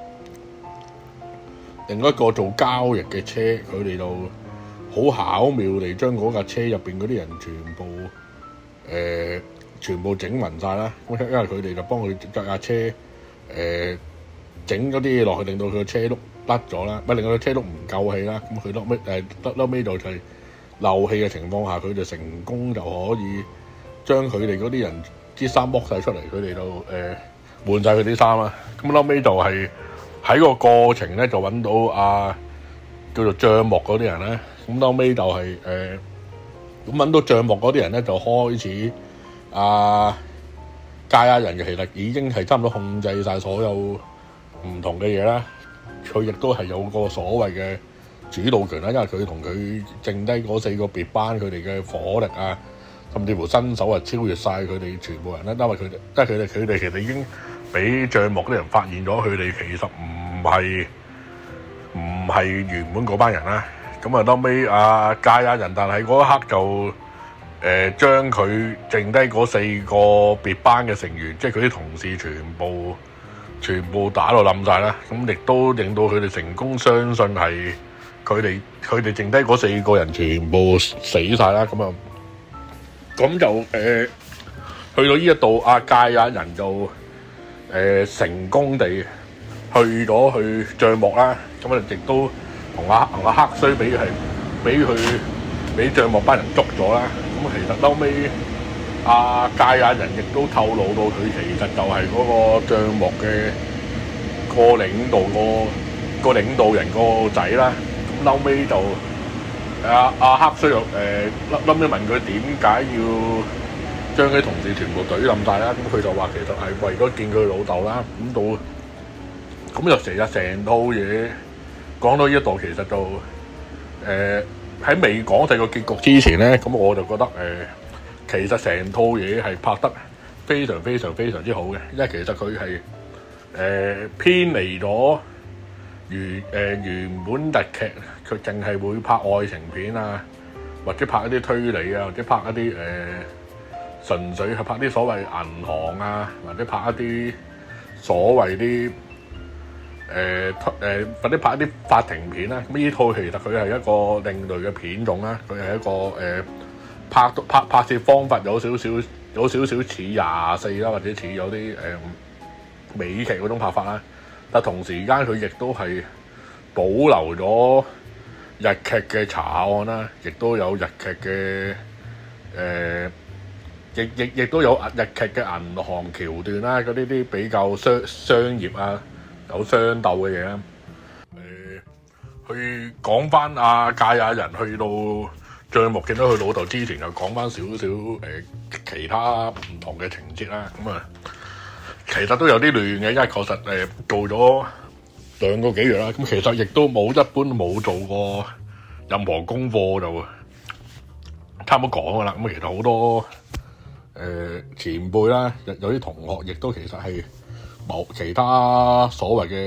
另一個做交易嘅車，佢哋就好巧妙地將嗰架車入邊嗰啲人全部誒。呃全部整暈晒啦！因為佢哋就幫佢著架車誒整咗啲嘢落去，令到佢個車轆甩咗啦，唔係令到佢車轆唔夠氣啦。咁佢後尾誒得後尾就係漏氣嘅情況下，佢就成功就可以將佢哋嗰啲人啲衫剝晒出嚟，佢哋就誒、呃、換晒佢啲衫啦。咁後尾就係喺個過程咧，就揾到啊叫做帳幕嗰啲人咧。咁後尾就係誒咁揾到帳幕嗰啲人咧，就開始。啊，芥雅人其實已經係差唔多控制晒所有唔同嘅嘢啦。佢亦都係有個所謂嘅主導權啦，因為佢同佢剩低嗰四個別班，佢哋嘅火力啊，甚至乎身手啊，超越晒佢哋全部人啦。因為佢哋，即係佢哋，佢哋其實已經俾帳幕啲人發現咗，佢哋其實唔係唔係原本嗰班人啦。咁啊，後尾啊芥雅人，但係嗰一刻就。誒將佢剩低嗰四個別班嘅成員，即係佢啲同事，全部全部打到冧晒啦。咁亦都令到佢哋成功相信係佢哋佢哋剩低嗰四個人全部死晒啦。咁啊，咁就誒、呃、去到呢一度，阿芥雅人就誒、呃、成功地去咗去帳幕啦。咁啊，亦都同阿同阿黑須俾係俾佢俾帳幕班人捉咗啦。咁其實後尾阿芥雅人亦都透露到佢其實就係嗰個帳幕嘅個領導個個領導人個仔啦。咁後尾就阿阿黑須又誒後尾問佢點解要將佢同事全部懟冧晒啦？咁佢就話其實係為咗見佢老豆啦。咁到咁就成日成套嘢講到呢一度，其實就誒。呃喺未講第個結局之前咧，咁我就覺得誒、呃，其實成套嘢係拍得非常非常非常之好嘅，因為其實佢係誒偏離咗原誒、呃、原本日劇，佢淨係會拍愛情片啊，或者拍一啲推理啊，或者拍一啲誒、呃、純粹係拍啲所謂銀行啊，或者拍一啲所謂啲。誒、呃、誒、呃、或者拍一啲法庭片啦，咁呢套其實佢係一個另類嘅片種啦，佢係一個誒、呃、拍拍拍攝方法有少少有少少似廿四啦，或者似有啲誒、呃、美劇嗰種拍法啦，但同時間佢亦都係保留咗日劇嘅查案啦，亦都有日劇嘅誒，亦亦亦都有日劇嘅銀行橋段啦，嗰啲啲比較商商業啊。有相鬥嘅嘢啦，誒、呃，去講翻阿芥雅人去到帳幕見到佢老豆之前，就講翻少少誒其他唔同嘅情節啦。咁啊，其實都有啲亂嘅，因為確實誒、呃、做咗兩個幾月啦。咁其實亦都冇一般冇做過任何功課就差唔多講噶啦。咁其實好多誒、呃、前輩啦，有啲同學亦都其實係。冇其他所謂嘅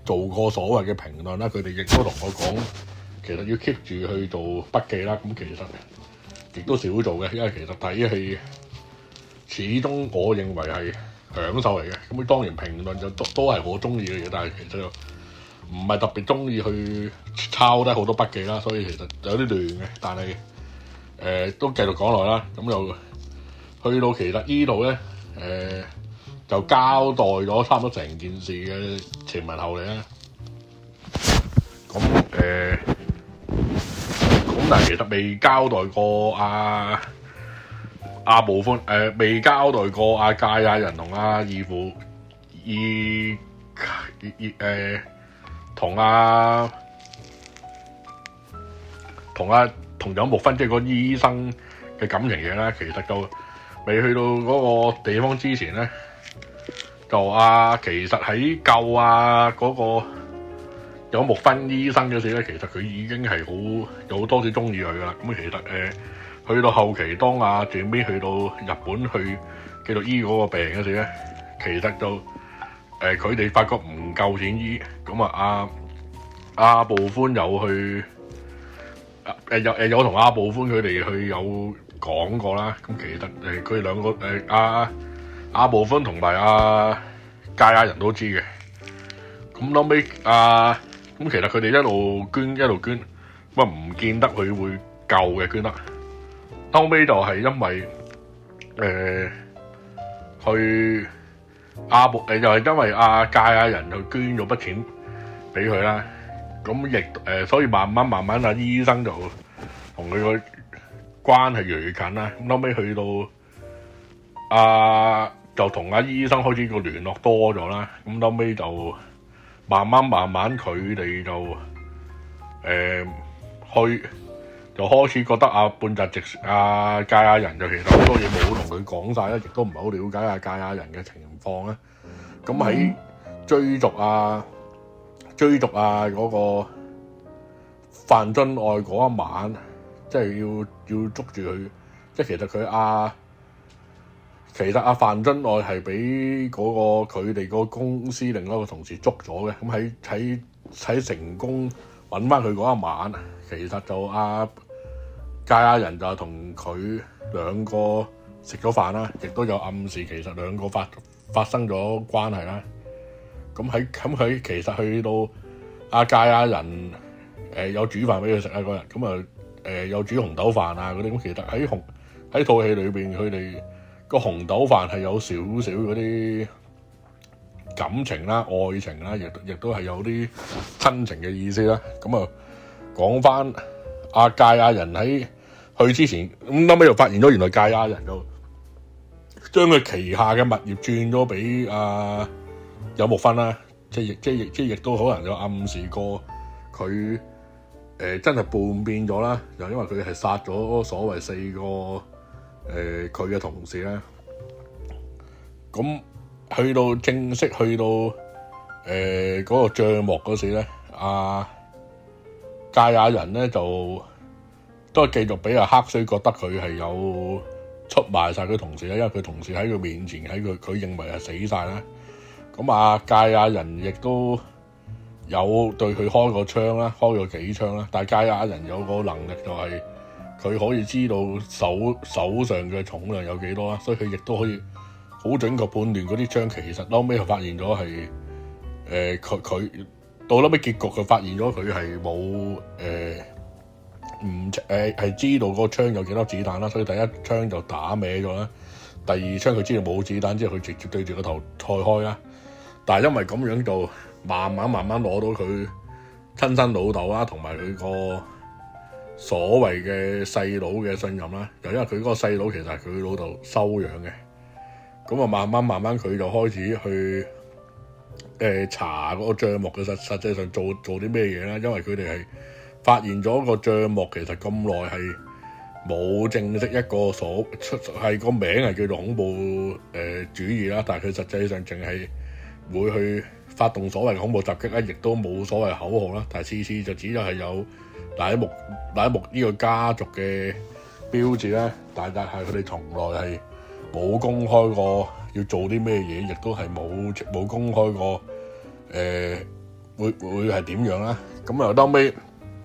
做過所謂嘅評論啦，佢哋亦都同我講，其實要 keep 住去做筆記啦。咁其實亦都少做嘅，因為其實睇戲始終我認為係享受嚟嘅。咁當然評論就都都係我中意嘅嘢，但係其實唔係特別中意去抄低好多筆記啦，所以其實有啲亂嘅。但係誒、呃、都繼續講落啦，咁就去到其實呢度咧誒就交代咗差唔多成件事嘅前文後理啦。咁誒咁但係其實未交代過阿阿部寬誒未交代過阿堺雅人同阿義父義義誒。同阿同阿同有木薰即係個醫生嘅感情嘢咧，其實就未去到嗰個地方之前咧，就啊其實喺救啊嗰個有木薰醫生嗰時咧，其實佢已經係好有好多次中意佢噶啦。咁其實誒、呃、去到後期，當阿最尾去到日本去繼續醫嗰個病嗰時咧，其實就誒佢哋發覺唔夠錢醫，咁啊阿阿部寬有去誒有誒有同阿部寬佢哋去有講過啦。咁其實誒佢哋兩個誒阿阿部寬同埋阿堺雅人都知嘅。咁後尾阿咁其實佢哋一路捐一路捐，咁啊唔見得佢會夠嘅捐得。後尾就係因為誒、呃、去。阿部誒就係因為阿堺雅人就捐咗筆錢俾佢啦，咁亦誒所以慢慢慢慢阿醫生就同佢個關係越嚟越近啦。咁後尾去到阿、啊、就同阿醫生開始個聯絡多咗啦。咁後尾就慢慢慢慢佢哋就誒、呃、去就開始覺得阿半澤直阿堺雅人就其實好多嘢冇同佢講晒啦，亦都唔係好了解阿堺雅人嘅情況咧。咁喺追逐啊追逐啊嗰、那個范津愛嗰一晚，即係要要捉住佢，即係其實佢阿其實阿范津愛係俾嗰個佢哋個公司另一個同事捉咗嘅。咁喺喺喺成功揾翻佢嗰一晚，其實就阿堺雅人就同佢兩個食咗飯啦，亦都有暗示其實兩個發發生咗關係啦。咁喺咁佢其實去到阿堺雅人誒、呃、有煮飯俾佢食啊嗰日，咁啊誒有煮紅豆飯啊嗰啲。咁其實喺紅喺套戲裏邊，佢哋個紅豆飯係有少少嗰啲感情啦、愛情啦，亦亦都係有啲親情嘅意思啦。咁啊講翻阿堺雅人喺去之前，咁後尾又發現咗原來堺雅人就將佢旗下嘅物業轉咗俾阿有木薰啦，即係亦即係亦即係亦都可能有暗示過佢誒、呃、真係叛變咗啦，就因為佢係殺咗所謂四個誒佢嘅同事啦。咁去到正式去到誒嗰、呃那個帳幕嗰時咧，阿堺雅人咧就都係繼續俾阿黑須覺得佢係有出賣晒佢同事啦，因為佢同事喺佢面前喺佢佢認為係死晒啦。咁阿堺雅人亦都有對佢開個槍啦，開咗幾槍啦。但係堺雅人有個能力就係佢可以知道手手上嘅重量有幾多啦，所以佢亦都可以好準確判斷嗰啲槍其實後尾佢發現咗係誒佢佢到後尾結局佢發現咗佢係冇誒唔誒係知道個槍有幾多子彈啦，所以第一槍就打歪咗啦。第二槍佢知道冇子彈之後，佢直接對住個頭開開啦。但係因為咁樣就慢慢慢慢攞到佢親生老豆啦，同埋佢個所謂嘅細佬嘅信任啦。又因為佢嗰個細佬其實係佢老豆收養嘅，咁啊慢慢慢慢佢就開始去誒、呃、查嗰個帳目嘅實實際上做做啲咩嘢啦。因為佢哋係發現咗個帳目其實咁耐係冇正式一個所出係個名係叫做恐怖誒、呃、主義啦，但係佢實際上淨係會去發動所謂嘅恐怖襲擊咧，亦都冇所謂口號啦。但係次次就只係有乃木乃木呢個家族嘅標誌咧，但係佢哋從來係冇公開過要做啲咩嘢，亦都係冇冇公開過誒會會係點樣啦？咁又後尾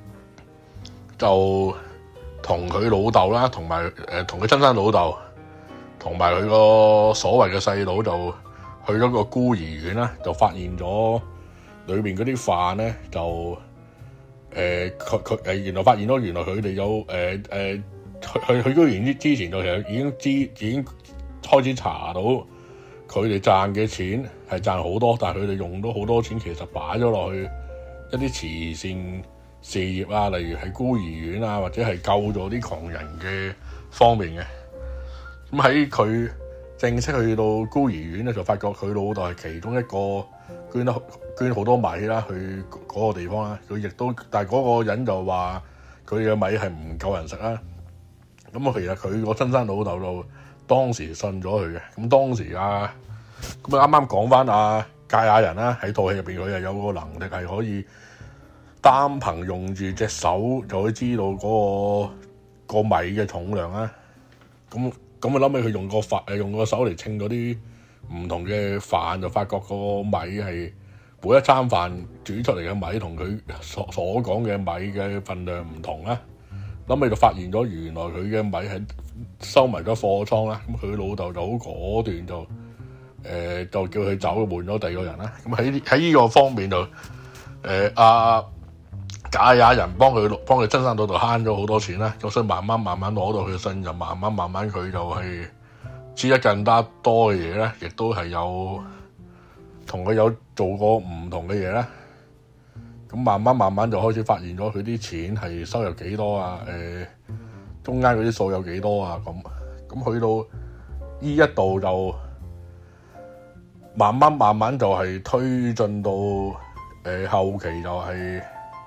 就同佢老豆啦，同埋誒同佢親生老豆，同埋佢個所謂嘅細佬就去咗個孤兒院啦，就發現咗裏邊嗰啲飯咧就誒佢佢誒原來發現咗原來佢哋有誒誒、呃、去去去孤兒院之前就其實已經知已經開始查到佢哋賺嘅錢係賺好多，但係佢哋用咗好多錢其實擺咗落去一啲慈善事業啊，例如係孤兒院啊，或者係救助啲窮人嘅方面嘅。咁喺佢正式去到孤兒院咧，就發覺佢老豆係其中一個捐得捐好多米啦，去嗰個地方啦。佢亦都，但係嗰個人就話佢嘅米係唔夠人食啦。咁啊，其實佢個親生老豆就當時信咗佢嘅。咁當時啊，咁啊啱啱講翻阿堺雅人啦，喺套戲入邊佢係有個能力係可以單憑用住隻手就可以知道嗰、個、個米嘅重量啦。咁咁啊諗起佢用個飯誒用個手嚟稱嗰啲唔同嘅飯，就發覺個米係每一餐飯煮出嚟嘅米同佢所所講嘅米嘅份量唔同啦。諗起就發現咗原來佢嘅米係收埋咗貨倉啦。咁佢老豆就好果斷就誒、呃、就叫佢走，換咗第二個人啦。咁喺喺呢個方面就誒阿堺雅人幫佢幫佢親生老豆慳咗好多錢啦，咁所以慢慢慢慢攞到佢嘅信任，慢慢慢慢佢就係知得更加多嘅嘢咧，亦都係有同佢有做過唔同嘅嘢啦。咁慢慢慢慢就開始發現咗佢啲錢係收入幾多啊？誒、呃，中間嗰啲數有幾多啊？咁咁去到呢一度就慢慢慢慢就係推進到誒、呃、後期就係、是。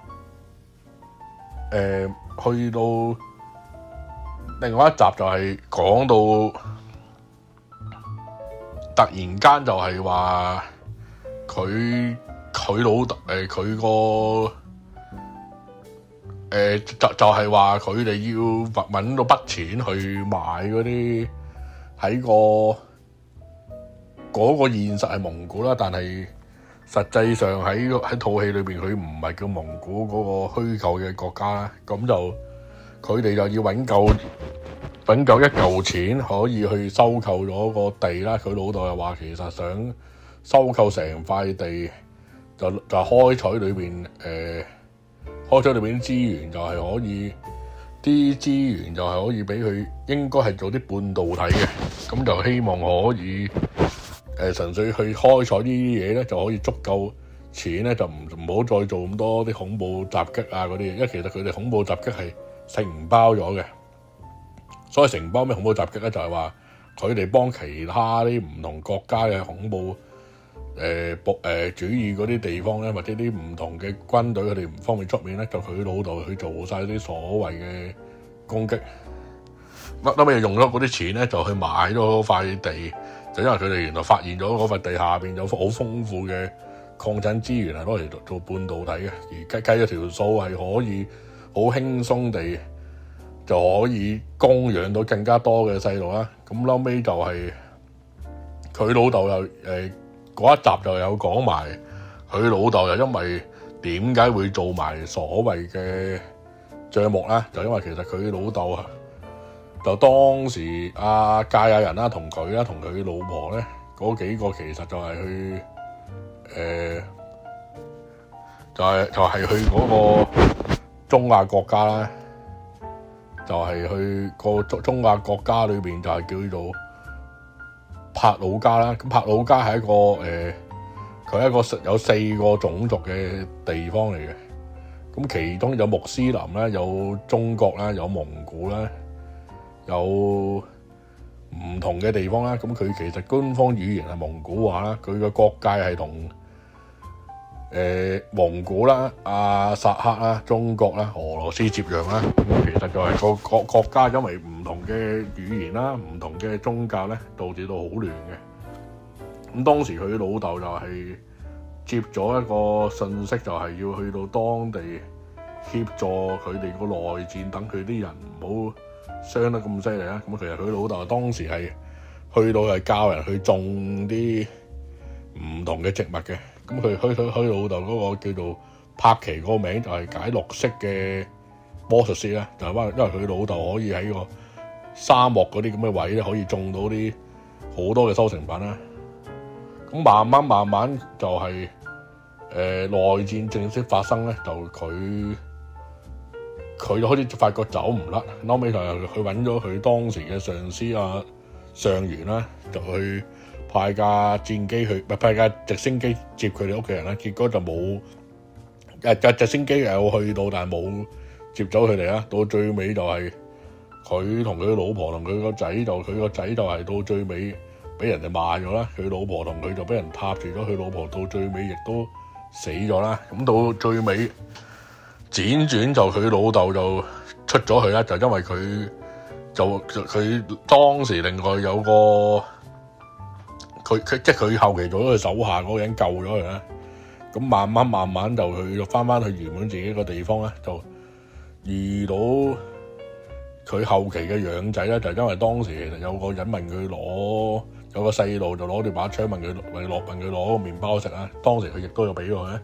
誒、呃，去到另外一集就係講到突然間就係話佢佢老豆誒佢個誒就就係話佢哋要搵到筆錢去買嗰啲喺個嗰、嗰個現實係蒙古啦，但係實際上喺喺套戲裏邊，佢唔係叫蒙古嗰個虛構嘅國家啦，咁就佢哋就要揾夠揾夠一嚿錢，可以去收購咗個地啦。佢老豆又話其實想收購成塊地，就就開採裏邊誒，開採裏邊啲資源就係可以，啲資源就係可以俾佢，應該係做啲半導體嘅，咁就希望可以。誒純粹去開採呢啲嘢咧，就可以足夠錢咧，就唔唔好再做咁多啲恐怖襲擊啊嗰啲嘢，因為其實佢哋恐怖襲擊係承包咗嘅。所謂承包咩恐怖襲擊咧，就係話佢哋幫其他啲唔同國家嘅恐怖誒暴誒主義嗰啲地方咧，或者啲唔同嘅軍隊佢哋唔方便出面咧，就佢老豆去做晒啲所謂嘅攻擊。乜後尾用咗嗰啲錢咧，就去買咗塊地。就因為佢哋原來發現咗嗰塊地下邊有好豐富嘅礦產資源係攞嚟做做半導體嘅，而計計咗條數係可以好輕鬆地就可以供養到更加多嘅細路啦。咁後尾就係佢老豆又誒嗰一集就有講埋佢老豆又因為點解會做埋所謂嘅帳目啦，就因為其實佢老豆啊。就當時阿堺雅人啦，同佢啦，同佢老婆咧，嗰幾個其實就係去誒、呃，就係、是、就係、是、去嗰個中亞國家啦，就係、是、去個中中亞國家裏邊就係叫做帕魯加啦。咁帕魯加係一個誒，佢、呃、係一個有四個種族嘅地方嚟嘅。咁其中有穆斯林啦，有中國啦，有蒙古啦。有唔同嘅地方啦，咁佢其實官方語言係蒙古話啦，佢嘅國界係同誒蒙古啦、阿薩克啦、中國啦、俄羅斯接壤啦。咁其實就係個國國家因為唔同嘅語言啦、唔同嘅宗教咧，導致到好亂嘅。咁當時佢老豆就係接咗一個信息，就係要去到當地協助佢哋個內戰，等佢啲人唔好傷得咁犀利啦，咁其實佢老豆當時係去到係教人去種啲唔同嘅植物嘅， 咁佢佢佢佢老豆嗰個叫做柏奇，嗰個名就係解綠色嘅魔術師啦，就係因為佢老豆可以喺個沙漠嗰啲咁嘅位咧，可以種到啲好多嘅收成品啦。咁慢慢慢慢就係、是、誒、呃、內戰正式發生咧，就佢佢就開始發覺走唔甩，後尾就係佢揾咗佢當時嘅上司啊上元啦，就去派架戰機去，唔係派架直升機接佢哋屋企人啦。結果就冇誒架直升機有去到，但係冇接走佢哋啦。到最尾就係佢同佢老婆同佢個仔，就佢個仔就係到最尾俾人哋賣咗啦。佢老婆同佢就俾人撻住咗，佢老婆到最尾亦都死咗啦。咁到最尾輾轉就佢老豆就出咗去啦，就因為佢就佢當時另外有個佢佢即係佢後期做咗佢手下嗰個人救咗佢啦。咁慢慢慢慢就去翻翻去原本自己個地方咧，就遇到佢後期嘅養仔咧，就因為當時其實有個人問佢攞，有個細路就攞住把槍問佢問攞問佢攞個麵包食啦。當時佢亦都有俾佢咧。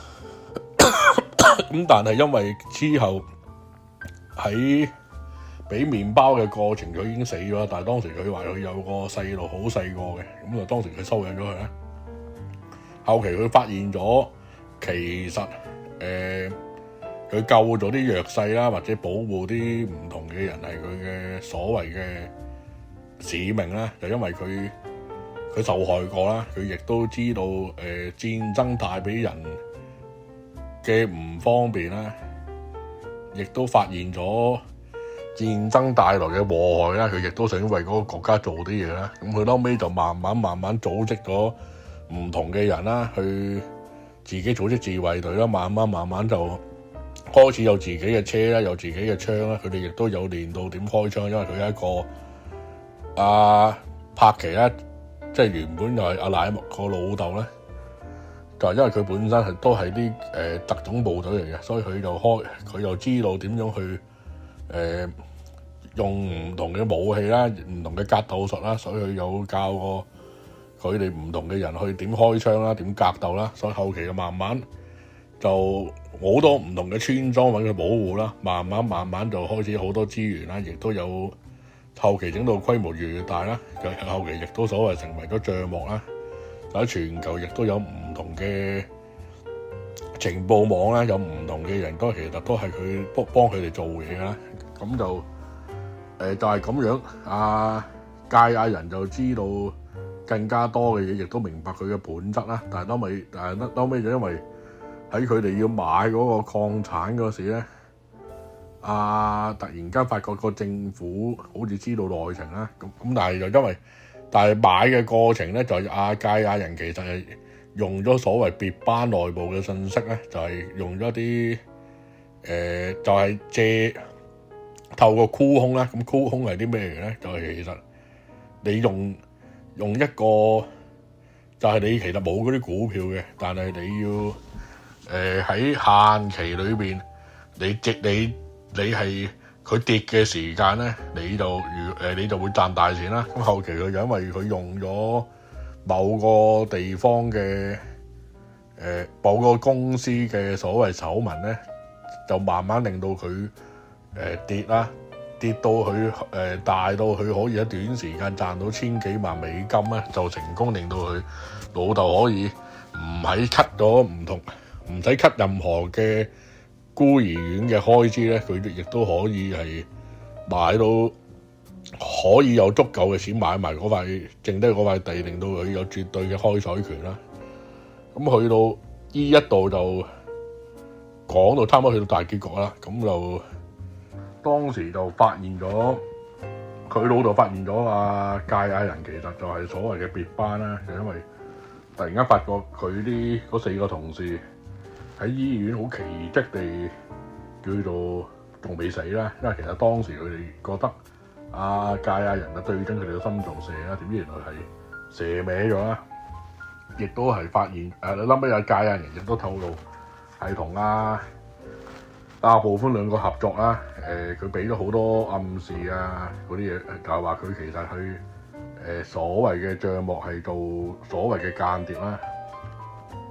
咁但係因為之後喺俾麵包嘅過程，佢已經死咗。但係當時佢話佢有個細路好細個嘅，咁就當時佢收養咗佢咧。後期佢發現咗，其實誒佢救咗啲弱勢啦，或者保護啲唔同嘅人係佢嘅所謂嘅使命啦。就因為佢佢受害過啦，佢亦都知道誒、呃、戰爭帶俾人嘅唔方便啦，亦都發現咗戰爭帶來嘅禍害啦。佢亦都想為嗰個國家做啲嘢啦。咁佢後尾就慢慢慢慢組織咗唔同嘅人啦，去自己組織自衛隊啦。慢慢慢慢就開始有自己嘅車啦，有自己嘅槍啦。佢哋亦都有練到點開槍，因為佢係一個阿柏奇咧，即係原本就係阿乃木個老豆咧，就係因為佢本身係都係啲誒特種部隊嚟嘅，所以佢就開佢就知道點樣去誒、呃、用唔同嘅武器啦，唔同嘅格鬥術啦，所以佢有教過佢哋唔同嘅人去點開槍啦，點格鬥啦。所以後期就慢慢就好多唔同嘅村莊揾佢保護啦，慢慢慢慢就開始好多資源啦，亦都有後期整到規模越嚟越大啦。後期亦都所謂成為咗帳幕啦。喺全球亦都有唔同嘅情報網啦，有唔同嘅人都其實都係佢幫幫佢哋做嘢啦。咁就誒、呃、就係、是、咁樣，阿堺亞人就知道更加多嘅嘢，亦都明白佢嘅本質啦。但係後尾，但係後尾就因為喺佢哋要買嗰個礦產嗰時咧，阿、啊、突然間發覺個政府好似知道內情啦。咁咁但係就因為但係買嘅過程咧，就係阿堺亞人其實係用咗所謂別班內部嘅信息咧，就係、是、用咗啲誒，就係、是、借透過沽空啦。咁沽空係啲咩嚟咧？就係、是、其實你用用一個就係、是、你其實冇嗰啲股票嘅，但係你要誒喺、呃、限期裏邊，你即你你係。佢跌嘅時間咧，你就如誒你就會賺大錢啦。咁後期佢就因為佢用咗某個地方嘅誒、呃、某個公司嘅所謂醜聞咧，就慢慢令到佢誒、呃、跌啦，跌到佢誒、呃、大到佢可以喺短時間賺到千幾萬美金咧，就成功令到佢老豆可以唔喺 cut 咗唔同唔使 cut 任何嘅孤兒院嘅開支咧，佢哋亦都可以係買到，可以有足夠嘅錢買埋嗰塊剩低嗰塊地，令到佢有絕對嘅開採權啦。咁去到呢一度就講到差唔多去到大結局啦。咁就當時就發現咗，佢老豆發現咗啊堺亞人其實就係所謂嘅別班啦，就因為突然間發覺佢啲嗰四個同事喺醫院好奇蹟地叫做仲未死啦，因為其實當時佢哋覺得阿堺亞人啊對準佢哋個心臟射啦，點知原來係射歪咗啦，亦都係發現誒，你諗起阿堺亞人亦都透露係同阿阿部寬兩個合作啦，誒佢俾咗好多暗示啊嗰啲嘢，就係話佢其實去誒、呃、所謂嘅帳幕係做所謂嘅間諜啦。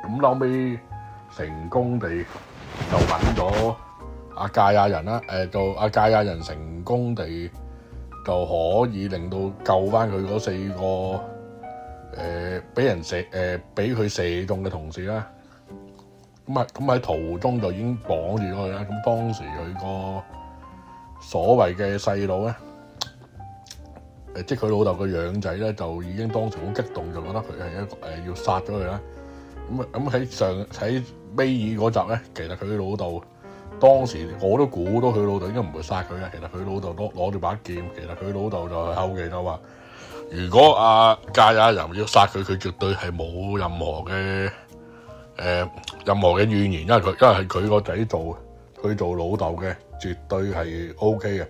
咁後尾成功地就揾咗阿芥亞人啦，誒就阿芥亞人成功地就可以令到救翻佢嗰四個誒俾、呃、人射誒俾佢射中嘅同事啦。咁啊咁喺途中就已經綁住咗佢啦。咁當時佢個所謂嘅細佬咧，誒即係佢老豆個養仔咧，就已經當時好激動，就覺得佢係一個誒、呃、要殺咗佢啦。咁啊咁喺上喺尾二嗰集咧，其實佢老豆當時我都估到佢老豆應該唔會殺佢嘅。其實佢老豆攞攞住把劍，其實佢老豆就係後期就話，如果阿芥亞人要殺佢，佢絕對係冇任何嘅誒、呃、任何嘅怨言，因為佢因為係佢個仔做，佢做老豆嘅，絕對係 O K 嘅。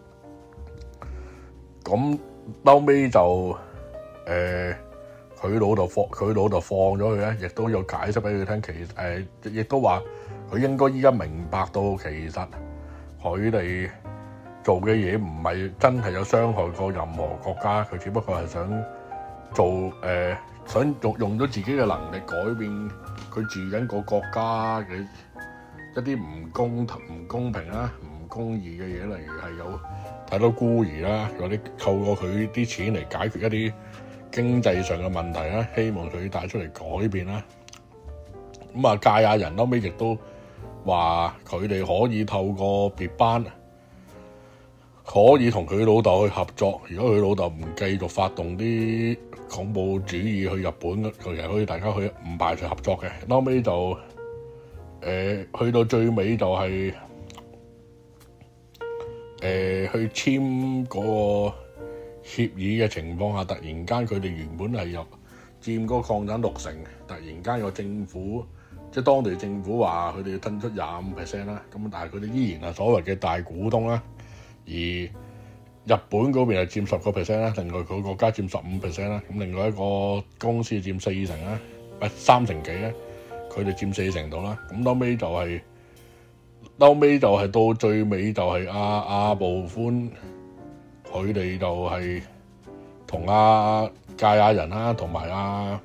咁後尾就誒。呃佢老豆放佢老豆放咗佢咧，亦都有解釋俾佢聽。其實誒，亦、呃、都話佢應該依家明白到，其實佢哋做嘅嘢唔係真係有傷害過任何國家，佢只不過係想做誒、呃，想用用咗自己嘅能力改變佢住緊個國家嘅一啲唔公唔公平啦、唔公義嘅嘢，例如係有太多孤兒啦，或者透過佢啲錢嚟解決一啲經濟上嘅問題啦，希望佢帶出嚟改變啦。咁啊，芥亞人後尾亦都話佢哋可以透過別班，可以同佢老豆去合作。如果佢老豆唔繼續發動啲恐怖主義去日本，佢其實可以大家去唔排除合作嘅。後尾就誒、呃、去到最尾就係、是、誒、呃、去簽嗰、那個協議嘅情況下，突然間佢哋原本係有佔嗰個礦產六成，突然間個政府即係當地政府話佢哋要吞出廿五 percent 啦，咁但係佢哋依然係所謂嘅大股東啦。而日本嗰邊係佔十個 percent 啦，另外佢國家佔十五 percent 啦，咁另外一個公司佔四成啦，唔係三成幾咧，佢哋佔四成度啦。咁後尾就係、是，後尾就係到最尾就係阿阿部寬。佢哋就係同阿芥亞人啦，同埋阿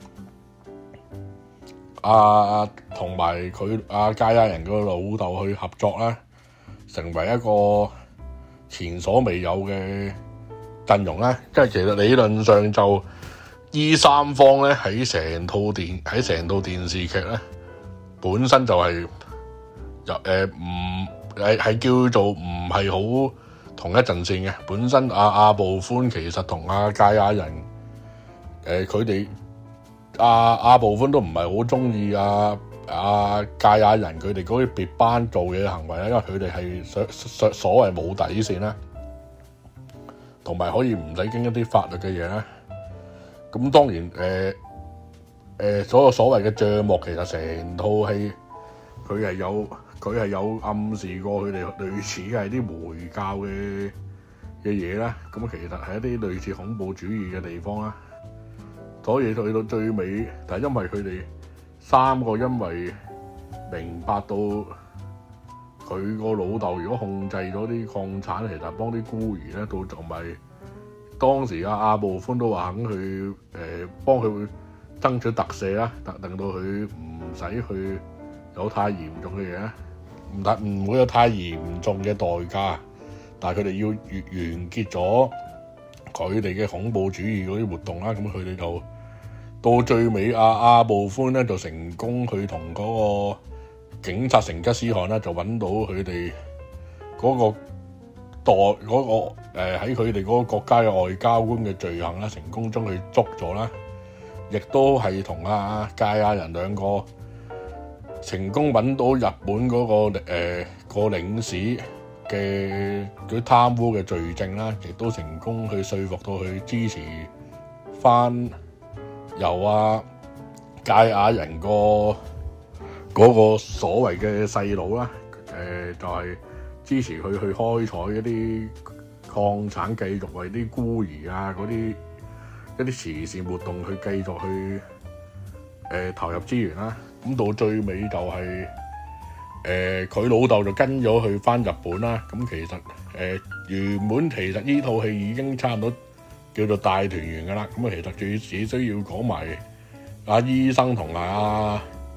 阿同埋佢阿芥亞人個老豆去合作啦，成為一個前所未有嘅陣容啦。即係其實理論上就依三方咧喺成套電喺成套電視劇咧，本身就係又誒唔係係叫做唔係好同一陣線嘅。本身阿阿部寬其實同阿芥亞人誒佢哋阿阿部寬都唔係好中意阿阿芥亞人佢哋嗰啲別班做嘢嘅行為啦，因為佢哋係所所所謂冇底線啦，同埋可以唔使經一啲法律嘅嘢啦。咁當然誒誒、呃呃、所有所謂嘅帳幕其實成套戲佢係有。佢係有暗示過佢哋類似係啲回教嘅嘅嘢啦，咁其實係一啲類似恐怖主義嘅地方啦。所以去到最尾，但係因為佢哋三個因為明白到佢個老豆如果控制咗啲礦產，其實幫啲孤兒咧，到同埋當時阿阿部寬都話肯去誒、呃、幫佢爭取特赦啦，特令到佢唔使去有太嚴重嘅嘢咧。唔得，唔會有太嚴重嘅代價，但係佢哋要完完結咗佢哋嘅恐怖主義嗰啲活動啦。咁佢哋就到最尾，阿阿部寬咧就成功去同嗰個警察成吉思汗咧就揾到佢哋嗰個代嗰、嗰個誒喺佢哋嗰個國家嘅外交官嘅罪行啦，成功將佢捉咗啦，亦都係同阿芥亞人兩個成功揾到日本嗰、那個誒、呃那個領事嘅嗰啲貪污嘅罪證啦，亦都成功去說服到佢支持翻由阿芥亞人個嗰個所謂嘅細佬啦，誒、呃、就係、是、支持佢去開採一啲礦產，繼續為啲孤兒啊嗰啲一啲慈善活動去繼續去誒、呃、投入資源啦。咁到最尾就係誒佢老豆就跟咗去翻日本啦。咁其實誒、呃、原本其實呢套戲已經差唔多叫做大團圓噶啦。咁啊其實最只需要講埋阿醫生同埋阿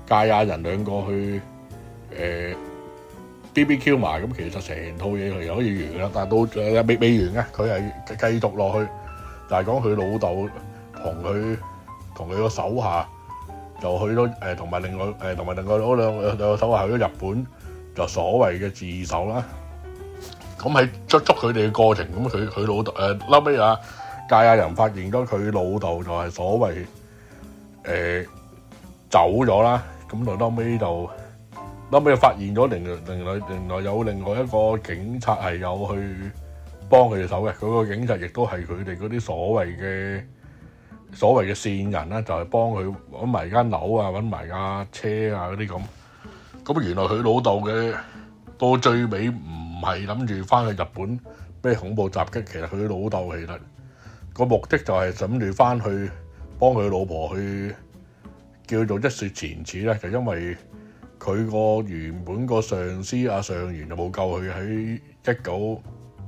芥亞人兩個去誒、呃、B B Q 埋，咁其實成套嘢佢可以完啦。但係到誒未未完嘅，佢係繼續落去，就係講佢老豆同佢同佢個手下就去咗誒，同、呃、埋另外誒同埋另外嗰兩兩個手下去咗日本，就所謂嘅自首啦。咁喺捉捉佢哋嘅過程，咁佢佢老豆誒後尾啊，芥亞人發現咗佢老豆就係所謂誒、呃、走咗啦，咁就後尾就後尾就發現咗另另外另外有另外一個警察係有去幫佢哋手嘅，嗰、那個警察亦都係佢哋嗰啲所謂嘅所謂嘅線人啦，就係、是、幫佢揾埋間樓啊，揾埋架車啊嗰啲咁。咁原來佢老豆嘅到最尾唔係諗住翻去日本咩恐怖襲擊，其實佢老豆其實個目的就係諗住翻去幫佢老婆去叫做一雪前恥咧，就因為佢個原本個上司阿上元就冇救佢喺一九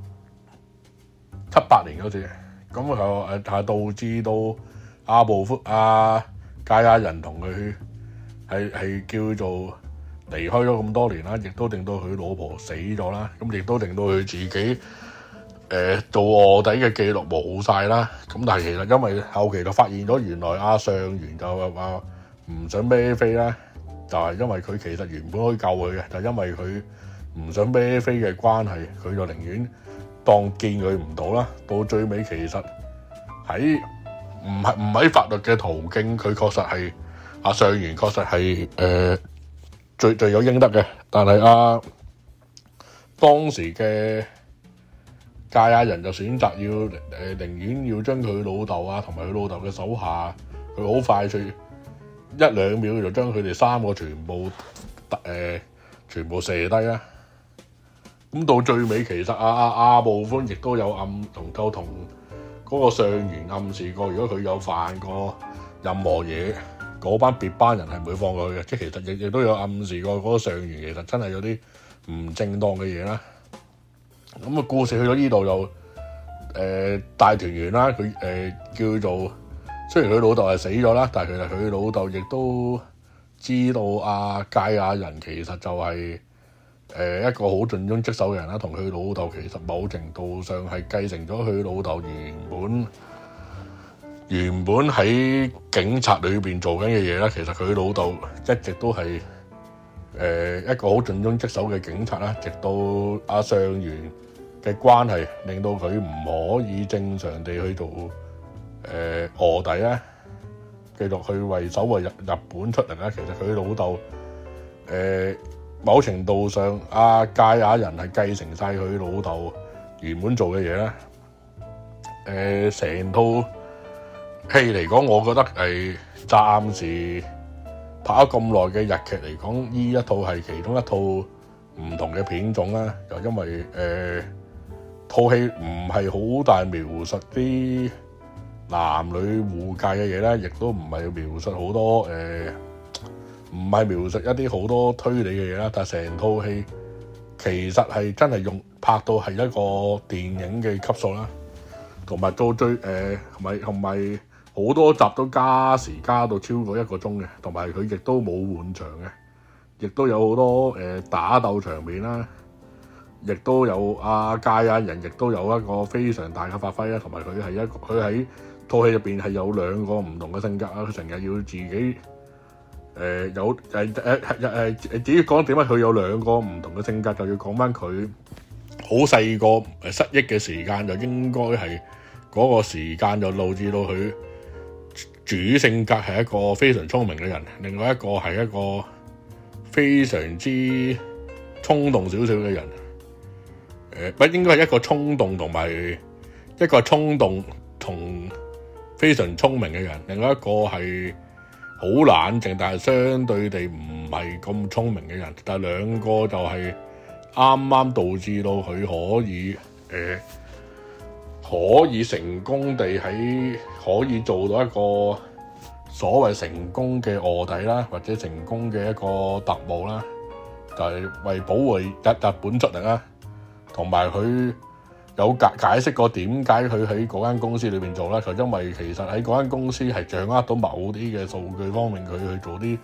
七八年嗰時，咁就誒係導致到阿部夫阿芥亞人同佢係係叫做離開咗咁多年啦，亦都令到佢老婆死咗啦，咁亦都令到佢自己誒、呃、做臥底嘅記錄冇晒啦。咁但係其實因為後期就發現咗，原來阿上元就話唔想孭飛啦，就係、是、因為佢其實原本可以救佢嘅，就因為佢唔想孭飛嘅關係，佢就寧願當見佢唔到啦。到最尾其實喺唔係唔喺法律嘅途徑，佢確實係阿上元確實係誒。呃最最有應得嘅，但係啊當時嘅芥亞人就選擇要誒、呃、寧願要將佢老豆啊同埋佢老豆嘅手下，佢好快脆一兩秒就將佢哋三個全部誒、呃、全部射低啦。咁到最尾其實阿阿阿部寬亦都有暗同夠同嗰個上元暗示過，如果佢有犯過任何嘢，嗰班別班人係唔會放過佢嘅，即係其實亦亦都有暗示過嗰個上元其實真係有啲唔正當嘅嘢啦。咁啊故事去到呢度就誒、呃、大團圓啦，佢誒、呃、叫做雖然佢老豆係死咗啦，但係其實佢老豆亦都知道阿芥亞人其實就係、是、誒、呃、一個好盡忠職守嘅人啦，同佢老豆其實某程度上係繼承咗佢老豆原本。原本喺警察裏邊做緊嘅嘢咧，其實佢老豆一直都係誒、呃、一個好盡忠職守嘅警察啦。直到阿上元嘅關係令到佢唔可以正常地去做誒臥底咧，繼續去為守衛日日本出力咧。其實佢老豆誒某程度上，阿芥亞人係繼承晒佢老豆原本做嘅嘢咧。誒、呃、成套戲嚟講，我覺得係暫時拍咗咁耐嘅日劇嚟講，呢一套係其中一套唔同嘅片種啦。就因為誒套戲唔係好大描述啲男女互介嘅嘢咧，亦都唔係描述好多誒，唔係描述一啲好多推理嘅嘢啦。但係成套戲其實係真係用拍到係一個電影嘅級數啦，同埋到最誒同埋同埋。好多集都加時加到超過一個鐘嘅，同埋佢亦都冇換場嘅，亦都有好多誒、呃、打鬥場面啦，亦都有阿芥亞人，亦都有一個非常大嘅發揮啦，同埋佢係一個佢喺套戲入邊係有兩個唔同嘅性格啊，佢成日要自己誒、呃、有誒誒誒誒自己講點解佢有兩個唔同嘅性格，就要講翻佢好細個誒失憶嘅時間，就應該係嗰個時間就導致到佢。主性格係一個非常聰明嘅人，另外一個係一個非常之衝動少少嘅人。誒、呃，不應該係一個衝動同埋一個衝動同非常聰明嘅人，另外一個係好冷靜，但係相對地唔係咁聰明嘅人。但係兩個就係啱啱導致到佢可以誒。呃可以成功地喺可以做到一個所謂成功嘅臥底啦，或者成功嘅一個特務啦，就係、是、為保護日日本出力啦。同埋佢有解解釋過點解佢喺嗰間公司裏邊做啦，就因為其實喺嗰間公司係掌握到某啲嘅數據方面，佢去做啲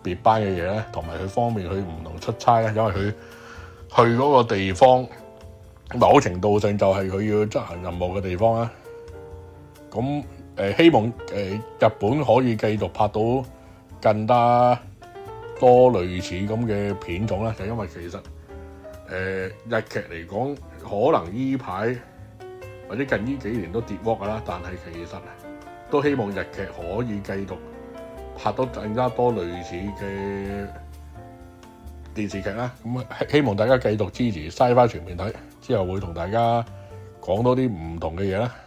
別班嘅嘢咧，同埋佢方面去唔同出差咧，因為佢去嗰個地方某程度上就係佢要執行任務嘅地方啦。咁誒、呃、希望誒、呃、日本可以繼續拍到更加多類似咁嘅片種啦，就因為其實誒、呃、日劇嚟講，可能依排或者近呢幾年都跌窩㗎啦，但係其實都希望日劇可以繼續拍到更加多類似嘅電視劇啦。咁希望大家繼續支持Sci-Fi全面睇，之後會同大家講多啲唔同嘅嘢啦。